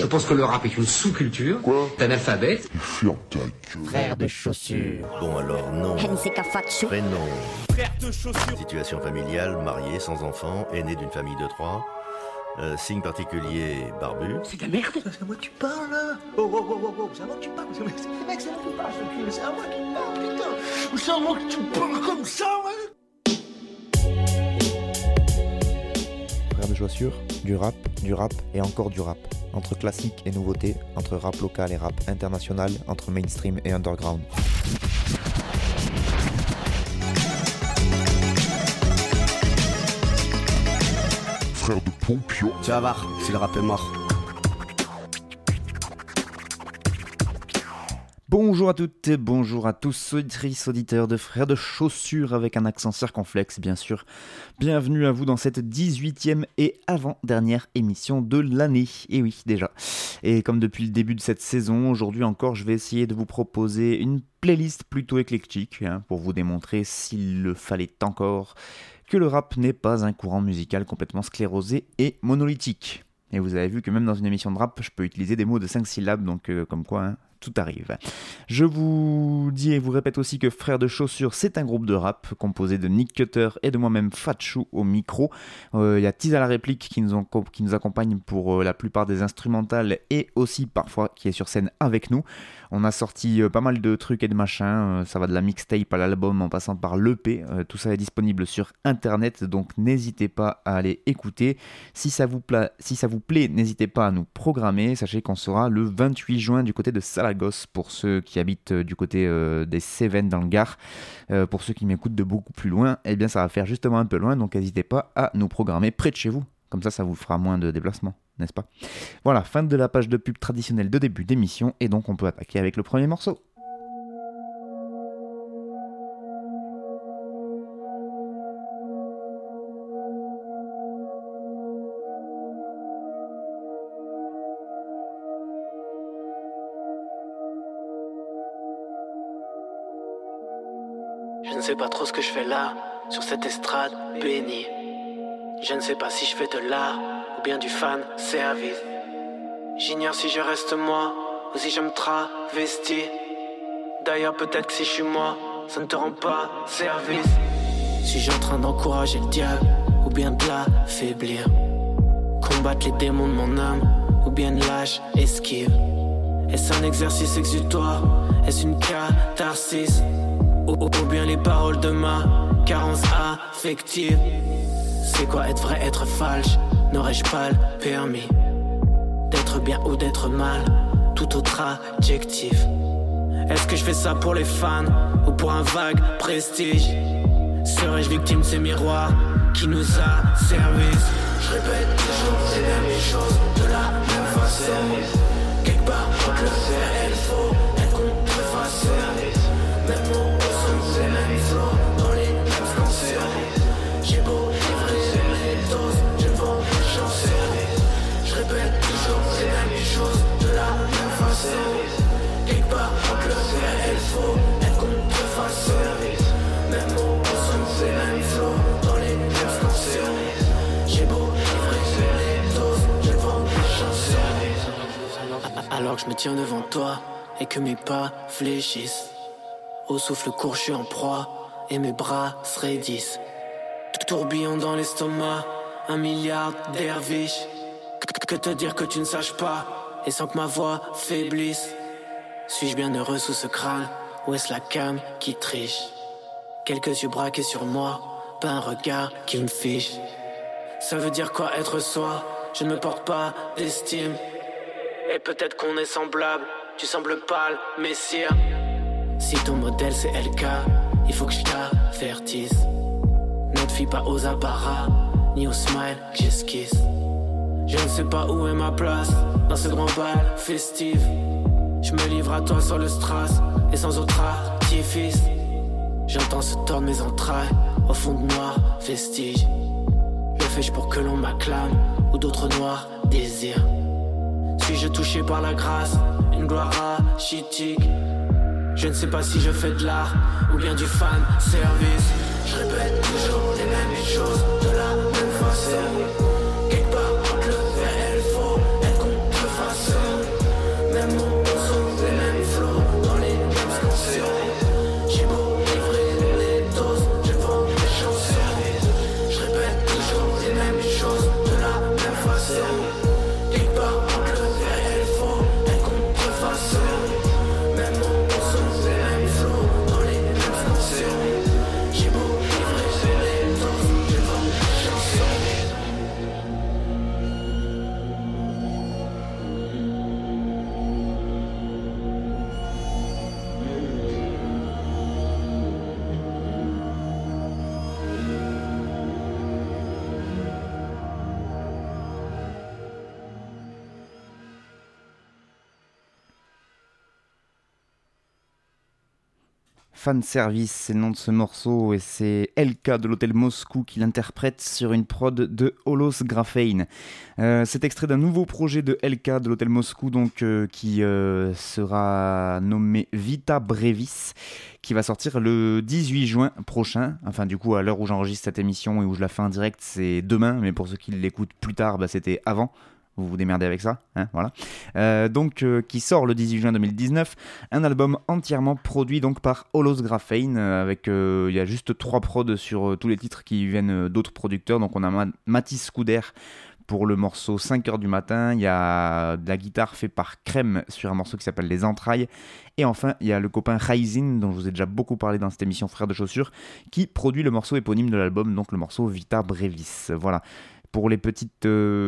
Je pense que le rap est une sous-culture. Quoi? T'es analphabète. Ferme ta gueule. Frère de chaussures. Bon alors non. Prénom. Frère de chaussures. Situation familiale, marié, sans enfant, aîné d'une famille de 3. Signe particulier, barbu. C'est de la merde. C'est à moi que tu parles là. Oh, c'est à moi que tu parles. C'est à moi que tu parles, c'est à moi que tu parles, putain. C'est à moi que tu parles comme ça, ouais. Frère de chaussures, du rap et encore du rap. Entre classique et nouveauté, entre rap local et rap international, entre mainstream et underground. Frère de Pompion. Tu vas voir, si le rap est mort. Bonjour à toutes et bonjour à tous, auditrices, auditeurs de Frères de Chaussures avec un accent circonflexe bien sûr. Bienvenue à vous dans cette 18e et avant-dernière émission de l'année, et oui déjà. Et comme depuis le début de cette saison, aujourd'hui encore je vais essayer de vous proposer une playlist plutôt éclectique pour vous démontrer s'il le fallait encore que le rap n'est pas un courant musical complètement sclérosé et monolithique. Et vous avez vu que même dans une émission de rap, je peux utiliser des mots de 5 syllabes, donc comme quoi, tout arrive. Je vous dis et vous répète aussi que Frères de Chaussures, c'est un groupe de rap composé de Nick Cutter et de moi-même Fatchou au micro. Il y a Tiz à la réplique qui nous accompagne pour la plupart des instrumentales et aussi parfois qui est sur scène avec nous. On a sorti pas mal de trucs et de machins, ça va de la mixtape à l'album en passant par l'EP, tout ça est disponible sur internet, donc n'hésitez pas à aller écouter. Si ça vous plaît, n'hésitez pas à nous programmer, sachez qu'on sera le 28 juin du côté de Salagos pour ceux qui habitent du côté des Cévennes dans le Gard. Pour ceux qui m'écoutent de beaucoup plus loin, eh bien ça va faire justement un peu loin, donc n'hésitez pas à nous programmer près de chez vous. Comme ça vous fera moins de déplacements, n'est-ce pas? Voilà, fin de la page de pub traditionnelle de début d'émission, et donc on peut attaquer avec le premier morceau. Je ne sais pas trop ce que je fais là, sur cette estrade bénie. Je ne sais pas si je fais de l'art ou bien du fan service. J'ignore si je reste moi ou si je me travestis. D'ailleurs peut-être que si je suis moi, ça ne te rend pas service. Suis-je en train d'encourager le diable ou bien de l'affaiblir? Combattre les démons de mon âme ou bien de lâche esquive? Est-ce un exercice exutoire? Est-ce une catharsis? Ou bien les paroles de ma carence affective? C'est quoi être vrai, être falche? N'aurais-je pas le permis d'être bien ou d'être mal? Tout autre adjectif. Est-ce que je fais ça pour les fans ou pour un vague prestige? Serais-je victime de ces miroirs qui nous a service? Je répète toujours les mêmes choses de la même façon. Quelque part entre le faire et le faux, être contrefaçon. Même mots au son, les mêmes flots dans les mêmes cancers. J'ai beau livrer mes doses, je vends mes chances. Je répète toujours les mêmes choses de la même façon. Quelque part entre le vrai et le faux, être contrefaçon. Même mots au son, les mêmes flots dans les mêmes cancers. J'ai beau livrer mes doses, je vends mes chances. Alors que je me tiens devant toi et que mes pas fléchissent, au souffle court, je suis en proie et mes bras se raidissent. Tourbillon dans l'estomac, 1 milliard derviches. Que te dire que tu ne saches pas, et sans que ma voix faiblisse? Suis-je bien heureux sous ce crâne, ou est-ce la cam qui triche? Quelques yeux braqués sur moi, pas un regard qui me fiche. Ça veut dire quoi être soi? Je ne me porte pas d'estime. Et peut-être qu'on est semblable, tu sembles pâle, messire. Si ton modèle c'est LK, il faut que je t'avertisse. Ne te fie pas aux apparats, ni aux smiles que j'esquisse. Je ne sais pas où est ma place, dans ce grand bal festif. Je me livre à toi sur le strass, et sans autre artifice. J'entends se tordre mes entrailles, au fond de noirs vestiges. Le fais-je pour que l'on m'acclame, ou d'autres noirs désirs? Suis-je touché par la grâce, une gloire rachitique? Je ne sais pas si je fais de l'art ou bien du fan service. Je répète toujours les mêmes choses de la même façon. Quelque part entre le vrai et le faux, être contrefaçon. Fan Service, c'est le nom de ce morceau et c'est LK de l'Hôtel Moscou qui l'interprète sur une prod de Holos Graphane. C'est extrait d'un nouveau projet de LK de l'Hôtel Moscou donc, qui sera nommé Vita Brevis, qui va sortir le 18 juin prochain. Enfin du coup à l'heure où j'enregistre cette émission et où je la fais en direct c'est demain, mais pour ceux qui l'écoutent plus tard c'était avant. Vous vous démerdez avec ça, hein, voilà. Qui sort le 18 juin 2019, un album entièrement produit donc par Holos Graphane, avec il y a juste 3 prods sur tous les titres qui viennent d'autres producteurs. Donc on a Mathis Scouder pour le morceau 5h du matin, il y a de la guitare faite par Crème sur un morceau qui s'appelle Les Entrailles, et enfin il y a le copain Raizin, dont je vous ai déjà beaucoup parlé dans cette émission Frères de Chaussures, qui produit le morceau éponyme de l'album, donc le morceau Vita Brevis, voilà. Pour les petites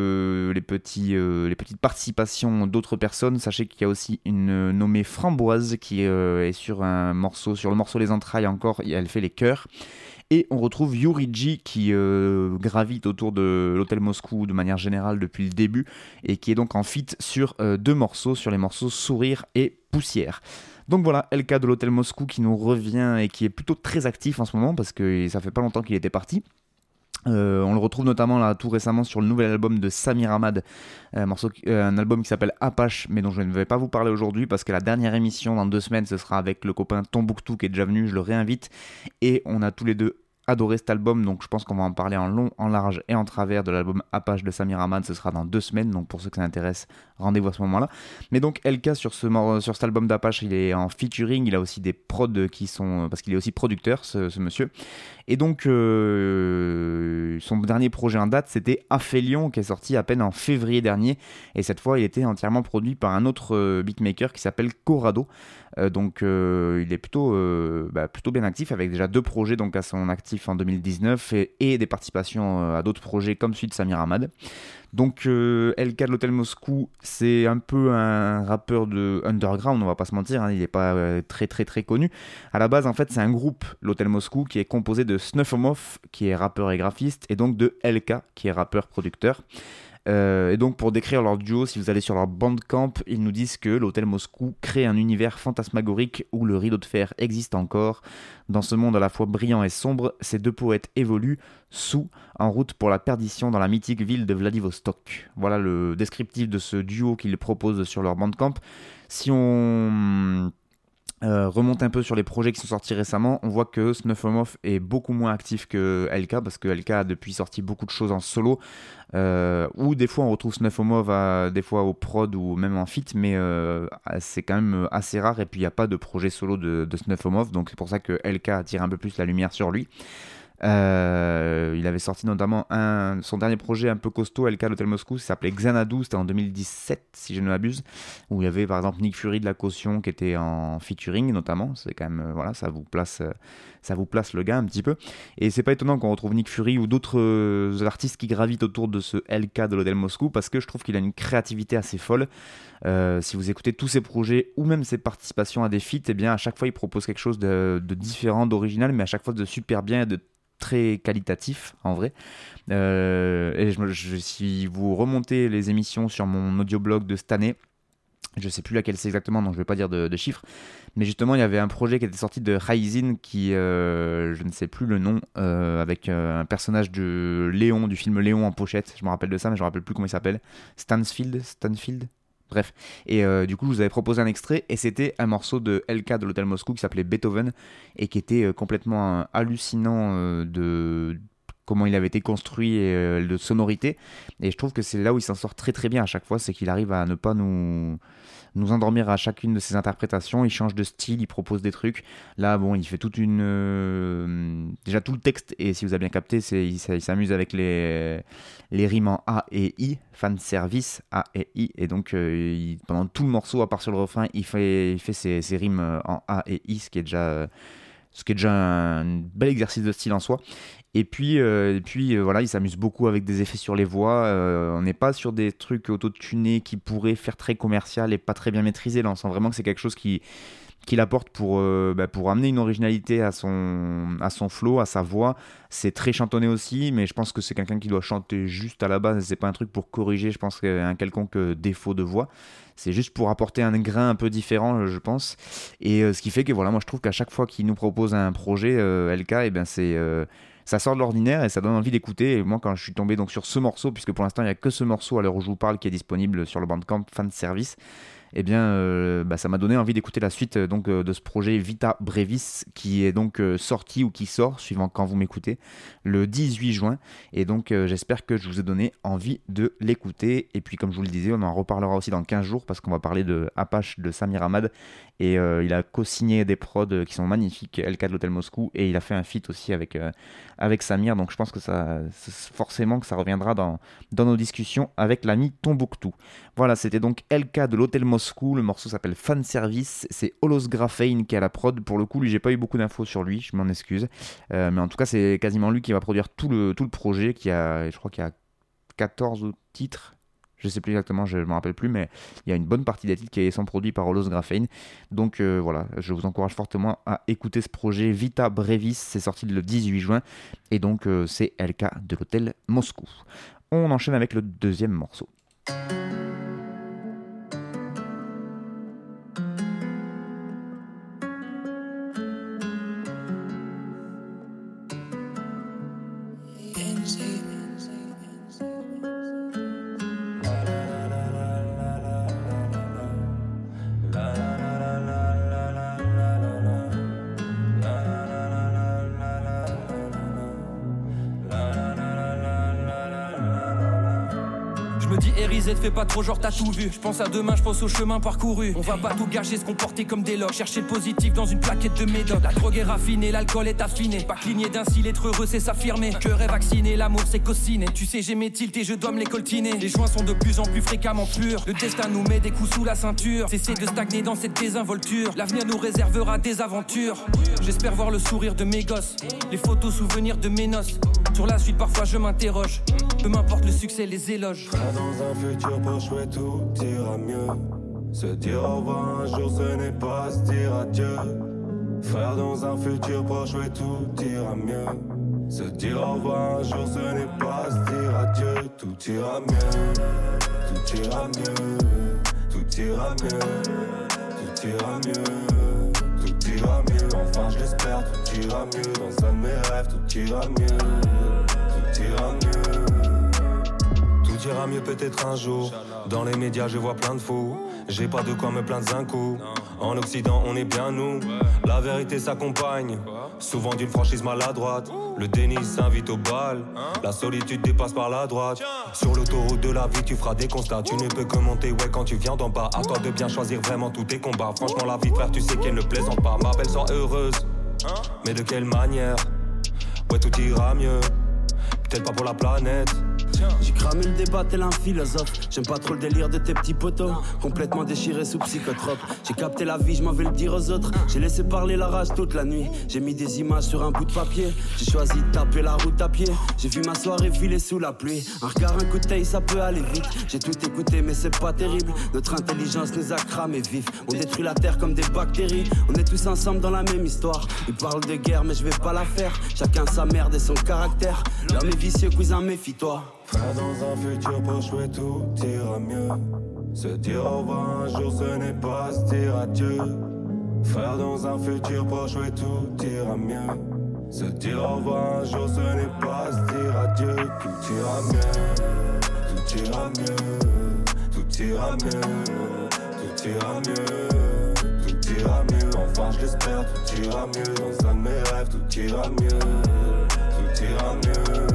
participations d'autres personnes, sachez qu'il y a aussi une nommée Framboise qui est sur le morceau Les Entrailles encore, elle fait les chœurs. Et on retrouve Yuriji qui gravite autour de l'Hôtel Moscou de manière générale depuis le début et qui est donc en feat sur 2 morceaux, sur les morceaux Sourire et Poussière. Donc voilà, LK de l'Hôtel Moscou qui nous revient et qui est plutôt très actif en ce moment parce que ça fait pas longtemps qu'il était parti. On le retrouve notamment là tout récemment sur le nouvel album de Samir Hamad, un album qui s'appelle Apache, mais dont je ne vais pas vous parler aujourd'hui parce que la dernière émission dans 2 semaines ce sera avec le copain Tombouctou qui est déjà venu, je le réinvite, et on a tous les deux adoré cet album, donc je pense qu'on va en parler en long, en large et en travers de l'album Apache de Samir Hamad. Ce sera dans 2 semaines, donc pour ceux que ça intéresse, rendez-vous à ce moment-là. Mais donc LK sur cet album d'Apache, il est en featuring, il a aussi des prods qui sont, parce qu'il est aussi producteur ce monsieur. Et donc son dernier projet en date c'était Aphélion qui est sorti à peine en février dernier, et cette fois il était entièrement produit par un autre beatmaker qui s'appelle Corrado. Il est plutôt bien actif avec déjà 2 projets donc à son actif en 2019 et des participations à d'autres projets comme celui de Samir Hamad. Donc LK de l'Hôtel Moscou, c'est un peu un rappeur de underground, on va pas se mentir, hein, il est pas très très très connu. À la base en fait c'est un groupe, l'Hôtel Moscou, qui est composé de Snuffomov qui est rappeur et graphiste et donc de LK qui est rappeur producteur. Et donc pour décrire leur duo, si vous allez sur leur Bandcamp, ils nous disent que l'Hôtel Moscou crée un univers fantasmagorique où le rideau de fer existe encore. Dans ce monde à la fois brillant et sombre, ces 2 poètes évoluent en route pour la perdition dans la mythique ville de Vladivostok. Voilà le descriptif de ce duo qu'ils proposent sur leur Bandcamp. Si on remonte un peu sur les projets qui sont sortis récemment, on voit que Snuffomov est beaucoup moins actif que LK, parce que LK a depuis sorti beaucoup de choses en solo, ou des fois on retrouve Snuffomov des fois au prod ou même en feat, mais c'est quand même assez rare, et puis il n'y a pas de projet solo de Snuffomov, donc c'est pour ça que LK attire un peu plus la lumière sur lui. Il avait sorti notamment son dernier projet un peu costaud, LK l'Hôtel Moscou, ça s'appelait Xanadu, c'était en 2017 si je ne m'abuse, où il y avait par exemple Nick Fury de La Caution qui était en featuring notamment. C'est quand même voilà, ça vous place le gars un petit peu, et c'est pas étonnant qu'on retrouve Nick Fury ou d'autres artistes qui gravitent autour de ce LK de l'Hôtel Moscou, parce que je trouve qu'il a une créativité assez folle. Si vous écoutez tous ses projets ou même ses participations à des feats, et bien à chaque fois il propose quelque chose de différent, d'original, mais à chaque fois de super bien et de très qualitatif en vrai. Si vous remontez les émissions sur mon audioblog de cette année, je sais plus laquelle c'est exactement, donc je vais pas dire de chiffres, mais justement il y avait un projet qui était sorti de Raizin qui, je ne sais plus le nom, avec un personnage de Léon, du film Léon en pochette, je me rappelle de ça mais je me rappelle plus comment il s'appelle, Stanfield. Bref, et du coup je vous avais proposé un extrait et c'était un morceau de LK de l'Hôtel Moscou qui s'appelait Beethoven et qui était complètement hallucinant de comment il avait été construit et de sonorité, et je trouve que c'est là où il s'en sort très très bien à chaque fois, c'est qu'il arrive à ne pas nous endormir à chacune de ses interprétations. Il change de style, il propose des trucs. Là bon, il fait déjà tout le texte, et si vous avez bien capté, il s'amuse avec les rimes en A et I, fan service A et I, et donc pendant tout le morceau, à part sur le refrain, il fait ses rimes en A et I, ce qui est déjà un bel exercice de style en soi. Et puis voilà, il s'amuse beaucoup avec des effets sur les voix. On n'est pas sur des trucs auto-tunés qui pourraient faire très commercial et pas très bien maîtrisé. Là, on sent vraiment que c'est quelque chose qui qu'il apporte pour amener une originalité à son flow, à sa voix. C'est très chantonné aussi, mais je pense que c'est quelqu'un qui doit chanter juste à la base. C'est pas un truc pour corriger, je pense, un quelconque défaut de voix. C'est juste pour apporter un grain un peu différent, je pense. Et ce qui fait que voilà, moi je trouve qu'à chaque fois qu'il nous propose un projet, LK, ça sort de l'ordinaire et ça donne envie d'écouter. Et moi, quand je suis tombé donc sur ce morceau, puisque pour l'instant il n'y a que ce morceau à l'heure où je vous parle qui est disponible sur le Bandcamp Fan Service, ça m'a donné envie d'écouter la suite de ce projet Vita Brevis qui est donc sorti ou qui sort, suivant quand vous m'écoutez, le 18 juin. Et donc j'espère que je vous ai donné envie de l'écouter. Et puis comme je vous le disais, on en reparlera aussi dans 15 jours parce qu'on va parler de Apache de Samir Ahmad. Et il a co-signé des prods qui sont magnifiques, LK de l'Hôtel Moscou, et il a fait un feat aussi avec Samir. Donc je pense que forcément que ça reviendra dans nos discussions avec l'ami Tombouctou. Voilà, c'était donc LK de l'Hôtel Moscou. Le morceau s'appelle Fan Service. C'est Holos Graphane qui est à la prod. Pour le coup, lui, j'ai pas eu beaucoup d'infos sur lui, je m'en excuse. Mais en tout cas, c'est quasiment lui qui va produire tout le projet. Je crois qu'il y a 14 titres. Je sais plus exactement, je ne me rappelle plus, mais il y a une bonne partie des titres qui sont produits par Holos Graphane. Donc voilà, je vous encourage fortement à écouter ce projet Vita Brevis. C'est sorti le 18 juin. Et donc, c'est LK de l'Hôtel Moscou. On enchaîne avec le deuxième morceau. Fais pas trop genre t'as tout vu. Je pense à demain, je pense au chemin parcouru. On va pas tout gâcher, se comporter comme des logs. Chercher le positif dans une plaquette de médoc. La drogue est raffinée, l'alcool est affiné. Pas cligner d'un cil, être heureux c'est s'affirmer. Cœur est vacciné, l'amour c'est cociné. Tu sais j'ai mes tilts et je dois me les coltiner. Les joints sont de plus en plus fréquemment purs. Le destin nous met des coups sous la ceinture. Cesser de stagner dans cette désinvolture. L'avenir nous réservera des aventures. J'espère voir le sourire de mes gosses. Les photos souvenirs de mes noces. Sur la suite parfois je m'interroge. Peu m'importe le succès, les éloges. Dans un futur proche, ouais, tout ira mieux. Se dire au revoir un jour, ce n'est pas se dire adieu. Frère, dans un futur proche, ouais, tout ira mieux. Se dire au revoir un jour, ce n'est pas se dire adieu. Tout ira mieux, tout ira mieux, tout ira mieux, tout ira mieux, tout ira mieux. Enfin, je l'espère, tout ira mieux. Dans un de mes rêves, tout ira mieux, tout ira mieux. Tout ira mieux peut-être un jour. Dans les médias je vois plein de fous. J'ai pas de quoi me plaindre d'un coup. En Occident on est bien nous. La vérité s'accompagne souvent d'une franchise maladroite. Le déni s'invite au bal. La solitude dépasse par la droite. Sur l'autoroute de la vie tu feras des constats. Tu ne peux que monter ouais quand tu viens d'en bas. À toi de bien choisir vraiment tous tes combats. Franchement la vie frère tu sais qu'elle ne plaisante pas. Ma belle soit heureuse. Mais de quelle manière? Ouais tout ira mieux. Peut-être pas pour la planète. J'ai cramé le débat tel un philosophe. J'aime pas trop le délire de tes petits potos. Complètement déchiré sous psychotrope. J'ai capté la vie, je m'en vais le dire aux autres. J'ai laissé parler la rage toute la nuit. J'ai mis des images sur un bout de papier. J'ai choisi de taper la route à pied. J'ai vu ma soirée filer sous la pluie. Un regard, un coup de taille, ça peut aller vite. J'ai tout écouté mais c'est pas terrible. Notre intelligence nous a cramé vif. On détruit la terre comme des bactéries. On est tous ensemble dans la même histoire. Ils parlent de guerre mais je vais pas la faire. Chacun sa merde et son caractère. L'homme est vicieux, cousin, méfie-toi. Frère, dans un futur proche, ouais, tout ira mieux. Se dire au revoir un jour, ce n'est pas se dire adieu. Frère, dans un futur proche, ouais, tout ira mieux. Se dire au revoir un jour, ce n'est pas se dire adieu. Tout ira mieux, tout ira mieux, tout ira mieux, tout ira mieux, tout ira mieux. Enfin, je l'espère, tout ira mieux. Dans un de mes rêves, tout ira mieux, tout ira mieux.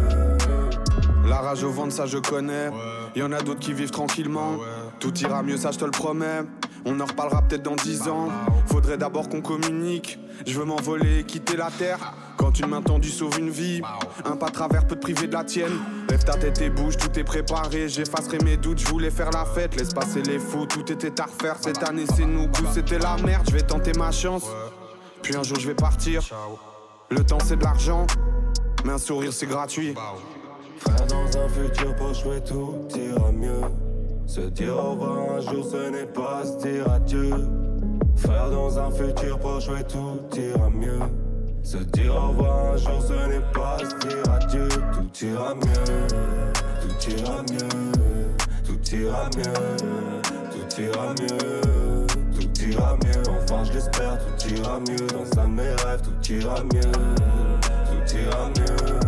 La rage au ventre, ça je connais. Y'en a d'autres qui vivent tranquillement. Tout ira mieux, ça je te le promets. On en reparlera peut-être dans 10 ans. Faudrait d'abord qu'on communique. Je veux m'envoler et quitter la terre. Quand une main tendue sauve une vie, un pas de travers peut te priver de la tienne. Lève ta tête et bouge, tout est préparé. J'effacerai mes doutes, je voulais faire la fête. Laisse passer les fous, tout était à refaire. Cette année c'est nous, coup c'était la merde. Je vais tenter ma chance, puis un jour je vais partir. Le temps c'est de l'argent, mais un sourire c'est gratuit. Frère, dans un futur proche, ouais, tout ira mieux. Se dire au revoir un jour, ce n'est pas se dire adieu. Frère, dans un futur proche, ouais, tout ira mieux. Se dire au revoir un jour, ce n'est pas se dire adieu. Tout ira mieux, tout ira mieux, tout ira mieux, tout ira mieux, tout ira mieux. Enfin, je l'espère, tout ira mieux. Dans un de mes rêves, tout ira mieux, tout ira mieux.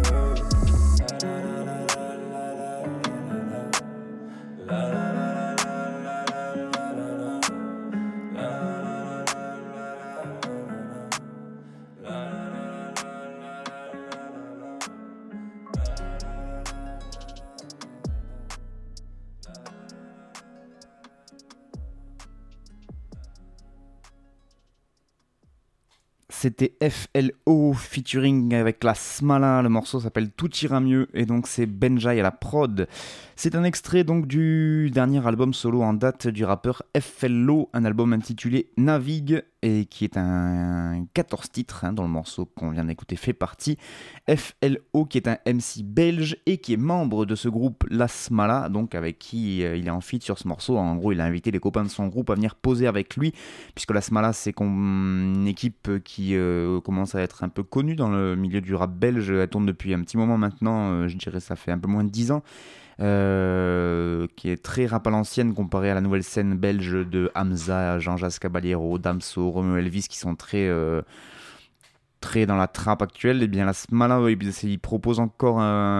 C'était FLO featuring avec la Smala, le morceau s'appelle Tout ira mieux et donc c'est Benjai à la prod. C'est un extrait donc du dernier album solo en date du rappeur FLO, un album intitulé Navigue et qui est un 14 titres dont le morceau qu'on vient d'écouter fait partie. FLO qui est un MC belge et qui est membre de ce groupe La Smala, donc avec qui il est en feat sur ce morceau. En gros il a invité les copains de son groupe à venir poser avec lui puisque La Smala c'est une équipe qui commence à être un peu connue dans le milieu du rap belge. Elle tourne depuis un petit moment maintenant, je dirais ça fait un peu moins de 10 ans. Qui est très rap à l'ancienne comparé à la nouvelle scène belge de Hamza, Jean-Jacques Caballero, Damso, Romeo Elvis qui sont très dans la trap actuelle. Et bien la Smala il propose encore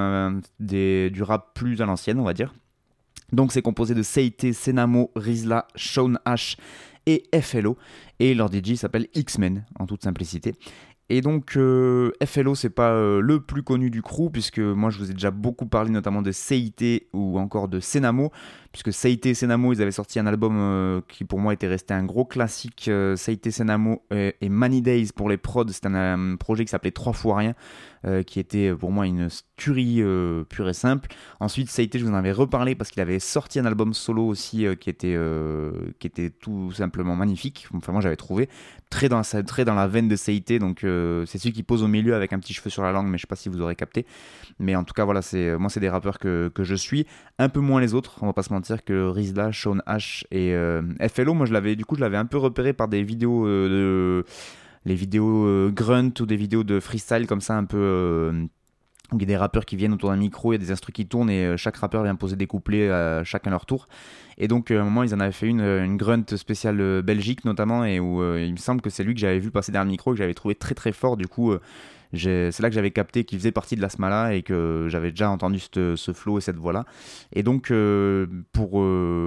du rap plus à l'ancienne on va dire. Donc c'est composé de Seite, Senamo, Rizla, Sean H et FLO et leur DJ s'appelle X-Men en toute simplicité. Et donc FLO c'est pas le plus connu du crew puisque moi je vous ai déjà beaucoup parlé notamment de Seite ou encore de Senamo puisque Seite et Senamo ils avaient sorti un album qui pour moi était resté un gros classique. Seite, Senamo et Many Days pour les prods, c'était un projet qui s'appelait 3 fois rien qui était pour moi une tuerie pure et simple. Ensuite Seite je vous en avais reparlé parce qu'il avait sorti un album solo aussi qui était tout simplement magnifique. Enfin moi j'avais trouvé très dans la veine de Seite, donc c'est celui qui pose au milieu avec un petit cheveu sur la langue, mais je sais pas si vous aurez capté. Mais en tout cas voilà, c'est des rappeurs que je suis, un peu moins les autres, on va pas se mentir, que Rizla, Sean H et FLO. Moi je l'avais un peu repéré par des vidéos les vidéos grunt ou des vidéos de freestyle comme ça un peu il y a des rappeurs qui viennent autour d'un micro, il y a des instrus qui tournent et chaque rappeur vient poser des couplets chacun leur tour. Et donc à un moment ils en avaient fait une grunt spéciale Belgique notamment, et où il me semble que c'est lui que j'avais vu passer derrière le micro et que j'avais trouvé très très fort. Du coup c'est là que j'avais capté qu'il faisait partie de la Smala et que j'avais déjà entendu ce flow et cette voix là. Et donc pour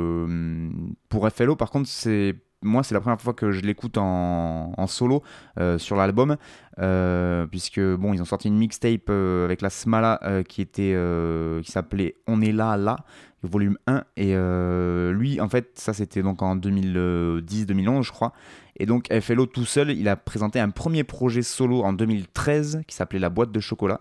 FLO par contre c'est la première fois que je l'écoute en solo sur l'album, puisque bon ils ont sorti une mixtape avec la Smala qui s'appelait On est là, volume 1, et lui en fait ça c'était donc en 2010-2011 je crois, et donc FLO tout seul il a présenté un premier projet solo en 2013 qui s'appelait La Boîte de Chocolat,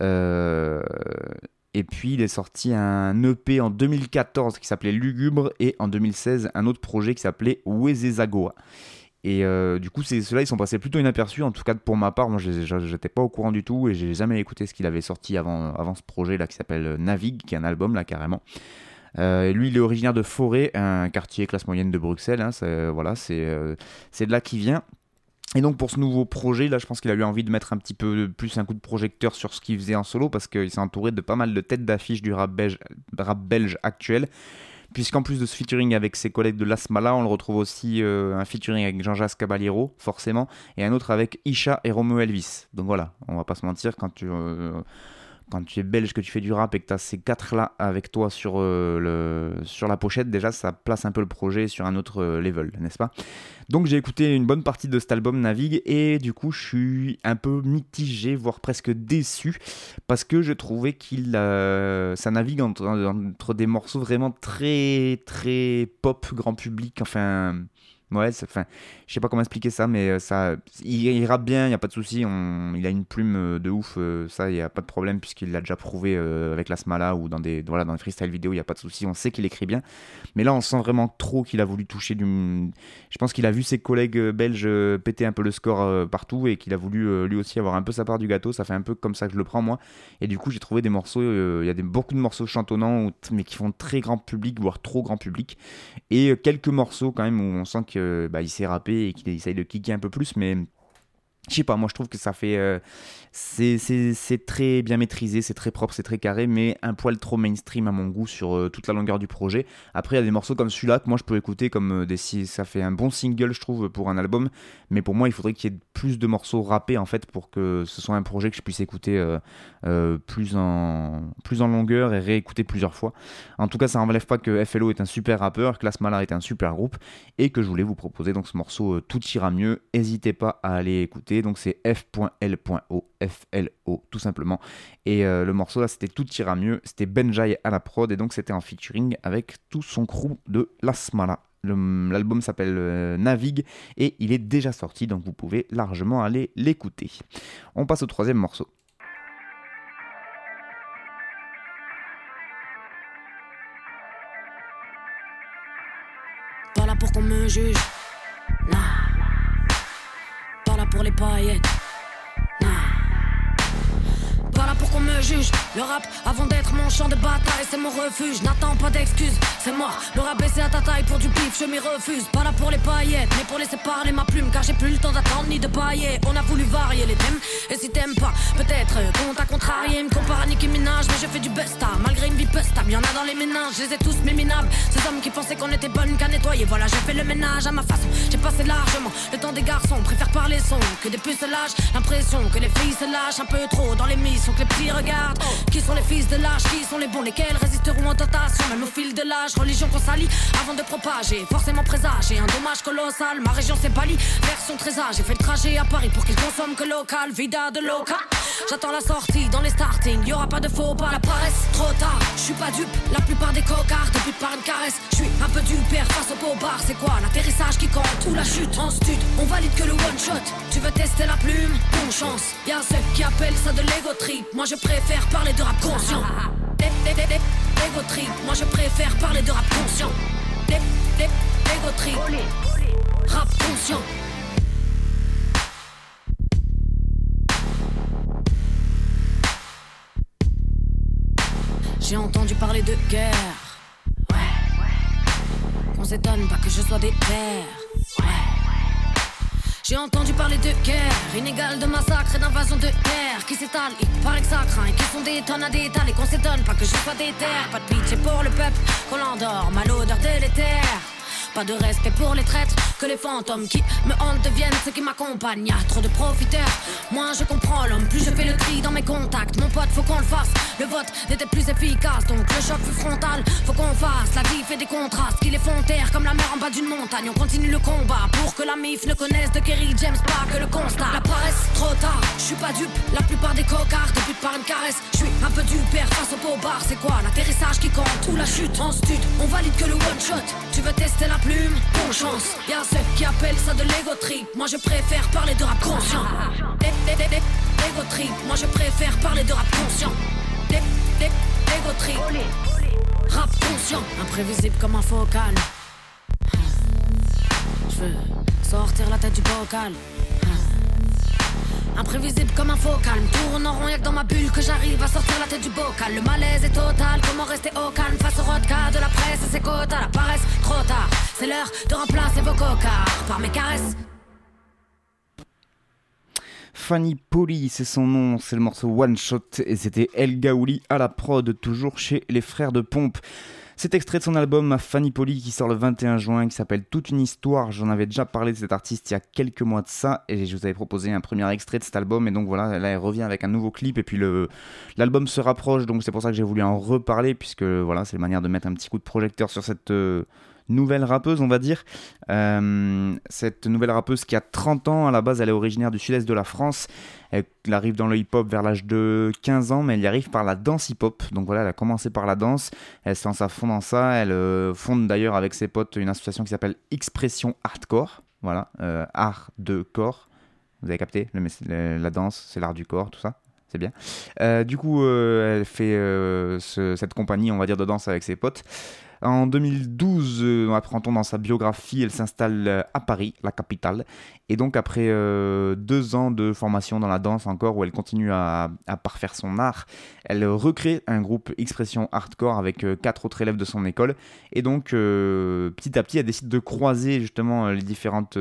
et puis il est sorti un EP en 2014 qui s'appelait Lugubre, et en 2016 un autre projet qui s'appelait Wezezagoa. Et du coup ceux-là ils sont passés plutôt inaperçus, en tout cas pour ma part. Moi j'étais pas au courant du tout et j'ai jamais écouté ce qu'il avait sorti avant ce projet là qui s'appelle Navigue, qui est un album là carrément. Lui il est originaire de Forêt, un quartier classe moyenne de Bruxelles, c'est de là qu'il vient. Et donc pour ce nouveau projet là, je pense qu'il a eu envie de mettre un petit peu plus un coup de projecteur sur ce qu'il faisait en solo, parce qu'il s'est entouré de pas mal de têtes d'affiche du rap belge actuel, puisqu'en plus de ce featuring avec ses collègues de La Smala, on le retrouve aussi un featuring avec Jean-Jacques Caballero forcément, et un autre avec Isha et Romeo Elvis. Donc voilà, on va pas se mentir, quand tu es belge, que tu fais du rap et que tu as ces 4 là avec toi sur la pochette, déjà ça place un peu le projet sur un autre level, n'est-ce pas? Donc j'ai écouté une bonne partie de cet album Navigue et du coup je suis un peu mitigé, voire presque déçu, parce que je trouvais ça navigue entre des morceaux vraiment très très pop grand public, enfin ouais, je sais pas comment expliquer ça, mais il rappe bien, il n'y a pas de souci, il a une plume de ouf, ça il n'y a pas de problème puisqu'il l'a déjà prouvé avec la Smala ou dans les freestyle vidéo, il n'y a pas de souci, on sait qu'il écrit bien. Mais là on sent vraiment trop qu'il a voulu toucher je pense qu'il a vu ses collègues belges péter un peu le score partout et qu'il a voulu lui aussi avoir un peu sa part du gâteau. Ça fait un peu comme ça que je le prends moi, et du coup j'ai trouvé des morceaux, il y a beaucoup de morceaux chantonnants mais qui font très grand public, voire trop grand public, et quelques morceaux quand même où on sent que qu'il sait rapper et qu'il essaye de kicker un peu plus, mais je sais pas, moi je trouve que ça fait c'est très bien maîtrisé, c'est très propre, c'est très carré, mais un poil trop mainstream à mon goût sur toute la longueur du projet. Après il y a des morceaux comme celui-là que moi je peux écouter comme ça fait un bon single je trouve pour un album, mais pour moi il faudrait qu'il y ait plus de morceaux rappés en fait pour que ce soit un projet que je puisse écouter plus en longueur et réécouter plusieurs fois. En tout cas ça n'enlève pas que FLO est un super rappeur, que La Smala est un super groupe et que je voulais vous proposer donc ce morceau Tout ira mieux. N'hésitez pas à aller écouter, donc c'est F.L.O, FLO tout simplement, et le morceau là c'était Tout ira mieux, c'était Benjai à la prod et donc c'était en featuring avec tout son crew de La Smala. L'album s'appelle Navigue et il est déjà sorti, donc vous pouvez largement aller l'écouter. On passe au troisième morceau. Pas là pour qu'on me juge, non. Pas là pour les paillettes, non. Pas là pour qu'on me juge. Le rap, avant d'être mon champ de bataille, c'est mon refuge. N'attends pas d'excuses, c'est mort. Le rap baissé à ta taille pour du bif, je m'y refuse. Pas là pour les paillettes, mais pour laisser parler ma plume, car j'ai plus le temps d'attendre ni de pailler. On a voulu varier les thèmes, et si t'aimes pas, peut-être qu'on t'a contrarié. Me compare à Nicki Minaj, mais je fais du busta. Malgré une vie pustable, y'en a dans les ménages, je les ai tous méminables. Ces hommes qui pensaient qu'on était bonnes qu'à nettoyer, voilà, j'ai fait le ménage à ma façon. J'ai passé largement le temps des garçons, préfère parler son que des pucelages. L'impression que les filles se lâchent un peu trop dans les missions que les petits regardent. Qui sont les fils de l'âge, qui sont les bons, lesquels résisteront aux tentations, même au fil de l'âge. Religion qu'on salit avant de propager, forcément présager un dommage colossal. Ma région c'est Bali, version très âge. J'ai fait le trajet à Paris pour qu'ils consomment que local, vida de loca. J'attends la sortie dans les startings, y'aura pas de faux pas. La paresse, trop tard, je suis pas dupe. La plupart des cocards débutent par une caresse. Je suis un peu du père face au beau bar. C'est quoi l'atterrissage qui compte ou la chute en stud? On valide que le one shot. Tu veux tester la plume? Bonne chance. Y'a ceux qui appellent ça de l'ego trip. Moi je préfère parler de rap conscient. Ego trip. Moi je préfère parler de rap conscient. Ego trip. Rap conscient. J'ai entendu parler de guerre, ouais. Qu'on s'étonne pas que je sois des terres, ouais. J'ai entendu parler de guerre, inégale de massacre et d'invasion de terre qui s'étale, il paraît que ça craint et qui sont des tonnes à d'étaler. Qu'on s'étonne pas que je sois des terres, pas de pitié pour le peuple, qu'on l'endort, mal odeur délétère. Pas de respect pour les traîtres, que les fantômes qui me hantent deviennent ceux qui m'accompagnent. Y'a trop de profiteurs, moins je comprends l'homme, plus je fais le tri dans mes contacts. Mon pote, faut qu'on le fasse, le vote n'était plus efficace, donc le choc fut frontal. Faut qu'on fasse la diff et des contrastes qui les font taire comme la mer en bas d'une montagne. On continue le combat pour que la MIF ne connaisse de Kerry James, pas que le constat. La paresse, trop tard, je suis pas dupe. La plupart des cocards débutent par une caresse. Je suis un peu du père face au beau bar. C'est quoi l'atterrissage qui compte ou la chute en stud? On valide que le one shot. Tu veux tester la plume? Bonne chance. Y'a ceux qui appellent ça de l'ego trip. Moi je préfère parler de rap conscient. Ego trip. Moi je préfère parler de rap conscient. Ego trip. Rap conscient. Imprévisible comme un focal. Je veux sortir la tête du bocal. Imprévisible comme un focal, me tourne en rond, y'a que dans ma bulle que j'arrive à sortir la tête du bocal. Le malaise est total, comment rester au calme face au rodka de la presse et ses quotas. La paresse, trop tard, c'est l'heure de remplacer vos cocards par mes caresses. Fanny Polly, c'est son nom, c'est le morceau One Shot et c'était El Gaouli à la prod, toujours chez les frères de Pompe. C'est extrait de son album Fanny Polly qui sort le 21 juin, qui s'appelle Toute une histoire. J'en avais déjà parlé de cet artiste il y a quelques mois de ça et je vous avais proposé un premier extrait de cet album et donc voilà, là elle revient avec un nouveau clip et puis l'album se rapproche, donc c'est pour ça que j'ai voulu en reparler puisque voilà, c'est la manière de mettre un petit coup de projecteur sur cette nouvelle rappeuse, on va dire. Cette nouvelle rappeuse qui a 30 ans, à la base elle est originaire du sud-est de la France. Elle arrive dans le hip-hop vers l'âge de 15 ans, mais elle y arrive par la danse hip-hop. Donc voilà, elle a commencé par la danse, elle se lance à fond dans ça. Elle fonde d'ailleurs avec ses potes une association qui s'appelle Expression Hardcore. Voilà, art de corps. Vous avez capté, la danse, c'est l'art du corps, tout ça. C'est bien. Du coup, elle fait cette compagnie, on va dire, de danse avec ses potes. En 2012, apprend-on dans sa biographie, elle s'installe à Paris, la capitale. Et donc après 2 ans de formation dans la danse encore, où elle continue à parfaire son art, elle recrée un groupe Expression Hardcore avec 4 autres élèves de son école. Et donc petit à petit, elle décide de croiser justement les différentes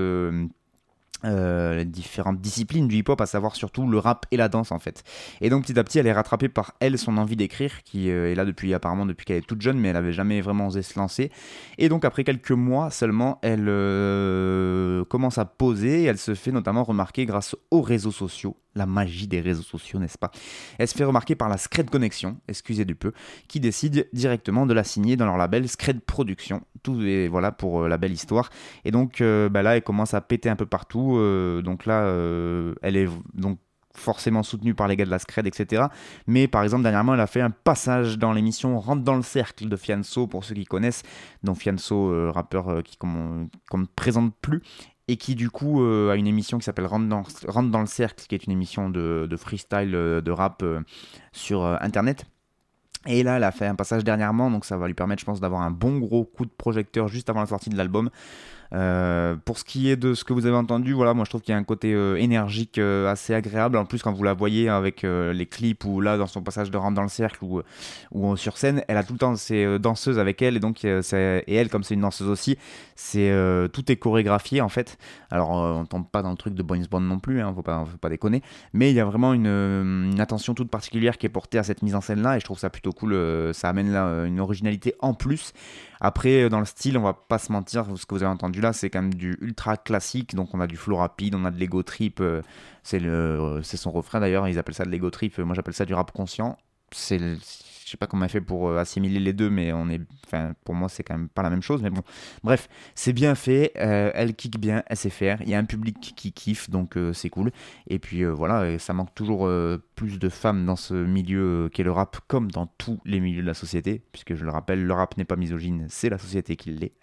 disciplines du hip-hop, à savoir surtout le rap et la danse en fait. Et donc petit à petit elle est rattrapée par son envie d'écrire qui est là depuis qu'elle est toute jeune, mais elle avait jamais vraiment osé se lancer. Et donc après quelques mois seulement, elle commence à poser et elle se fait notamment remarquer grâce aux réseaux sociaux. La magie des réseaux sociaux, n'est-ce pas? Elle se fait remarquer par la Scred Connection, excusez du peu, qui décide directement de la signer dans leur label Scred Production. Tout est voilà pour la belle histoire. Et donc là, elle commence à péter un peu partout. Donc là, elle est donc forcément soutenue par les gars de la Scred, etc. Mais par exemple, dernièrement, elle a fait un passage dans l'émission Rentre dans le cercle de Fianso, pour ceux qui connaissent. Donc Fianso, rappeur qu'on ne présente plus, et qui du coup a une émission qui s'appelle Rentre dans le cercle, qui est une émission de freestyle, de rap sur internet. Et là, elle a fait un passage dernièrement, donc ça va lui permettre, je pense, d'avoir un bon gros coup de projecteur juste avant la sortie de l'album. Pour ce qui est de ce que vous avez entendu, voilà, moi je trouve qu'il y a un côté énergique assez agréable. En plus, quand vous la voyez avec les clips ou là dans son passage de Rentre dans le cercle ou sur scène, elle a tout le temps ses danseuses avec elle, et donc et elle, comme c'est une danseuse aussi, tout est chorégraphié en fait. Alors on tombe pas dans le truc de Boys Band non plus, hein, faut pas déconner, mais il y a vraiment une attention toute particulière qui est portée à cette mise en scène là, et je trouve ça plutôt cool. Ça amène là une originalité en plus. Après, dans le style, on va pas se mentir, ce que vous avez entendu là, c'est quand même du ultra classique. Donc on a du flow rapide, on a de l'ego trip, c'est son refrain d'ailleurs, ils appellent ça de l'ego trip, moi j'appelle ça du rap conscient. Je sais pas comment elle fait pour assimiler les deux, mais pour moi c'est quand même pas la même chose, mais bon, bref, c'est bien fait, elle kick bien, elle sait faire, il y a un public qui kiffe, donc c'est cool. Et puis voilà, et ça manque toujours plus de femmes dans ce milieu qu'est le rap, comme dans tous les milieux de la société, puisque je le rappelle, le rap n'est pas misogyne, c'est la société qui l'est,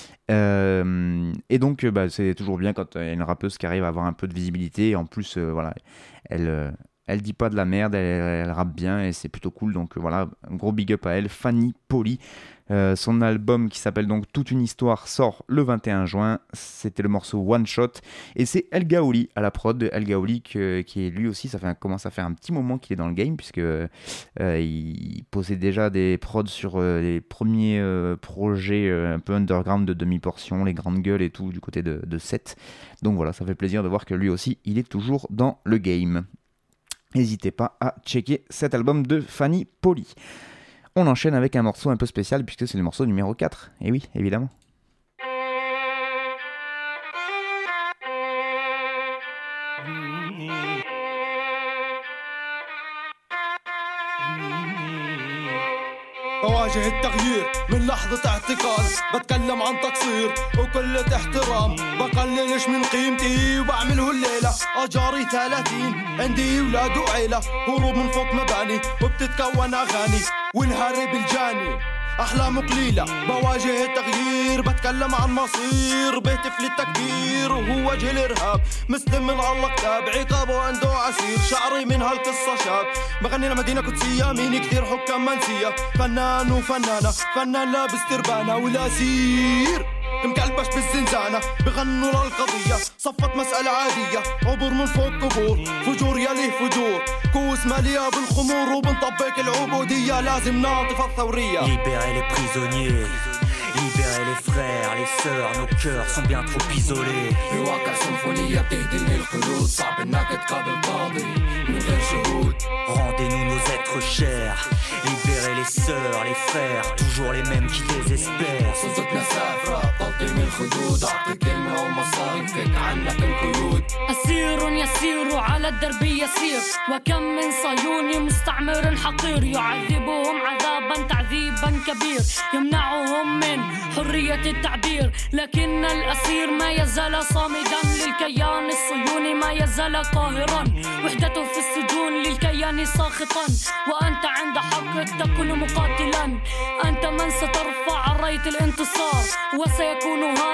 hein. Et donc c'est toujours bien quand il y a une rappeuse qui arrive à avoir un peu de visibilité, et en plus voilà, elle dit pas de la merde, elle rappe bien et c'est plutôt cool. Donc voilà, un gros big up à elle, Fanny Polly. Son album qui s'appelle donc Toute une histoire sort le 21 juin. C'était le morceau One Shot. Et c'est El Gaouli à la prod. El Gaouli qui est lui aussi, commence à faire un petit moment qu'il est dans le game, puisque il possède déjà des prods sur les premiers projets un peu underground de demi-portion, les grandes gueules et tout du côté de Seth. Donc voilà, ça fait plaisir de voir que lui aussi, il est toujours dans le game. N'hésitez pas à checker cet album de Fanny Polly. On enchaîne avec un morceau un peu spécial, puisque c'est le morceau numéro 4. Et oui, évidemment. بواجه التغيير من لحظة اعتقال، بتكلم عن تقصير وقلة احترام، بقللش من قيمتي وبعمله الليلة. أجاري 30 عندي ولاد وعيلة، هروب من فوق مباني وبتتكون أغاني، والهارب الجاني أحلام قليلة. بواجه التغيير بتكلم عن مصير، بهتف للتكبير وهو وجه الإرهاب. مسلم من الله كتاب عقابه عنده عسير، شعري من هالقصة شاب، بغني لمدينة قدسية مين كثير حكام منسية. فنان وفنانة، فنان لابس تربانة والأسير مكلبش بالزنزانة، بغنوا للقضية صفت مسألة عادية. عبور من فوق قبور، فجور يليه فجور، كوس مالية بالخمور وبنطبق العبودية. لازم نعطف الثورية. Libérer les prisonniers, libérer les frères, les sœurs, nos cœurs sont bien trop isolés. بواقع سيمفونية بتهديني الخلود، صعب انك تقابل قاضي من غير شهود. Rendez-nous nos êtres chers, libérer les sœurs, les frères, toujours les mêmes qui désespèrent. صوتنا سافرة تلطيم الخدود، أعطي كلمة ومصاري فك عنك القيود. أسير يسير على الدرب يسير، وكم من صهيوني مستعمر حقير، يعذبهم عذابا تعذيبا كبير، يمنعهم من حرية التعبير. لكن الأسير ما يزال صامدا للكيان الصهيوني، ما يزال قاهرا وحدته في السجون للكيان ساخطا. وأنت عند حق تكون مقاتلا، أنت من سترفع راية الانتصار، وسيكون هذا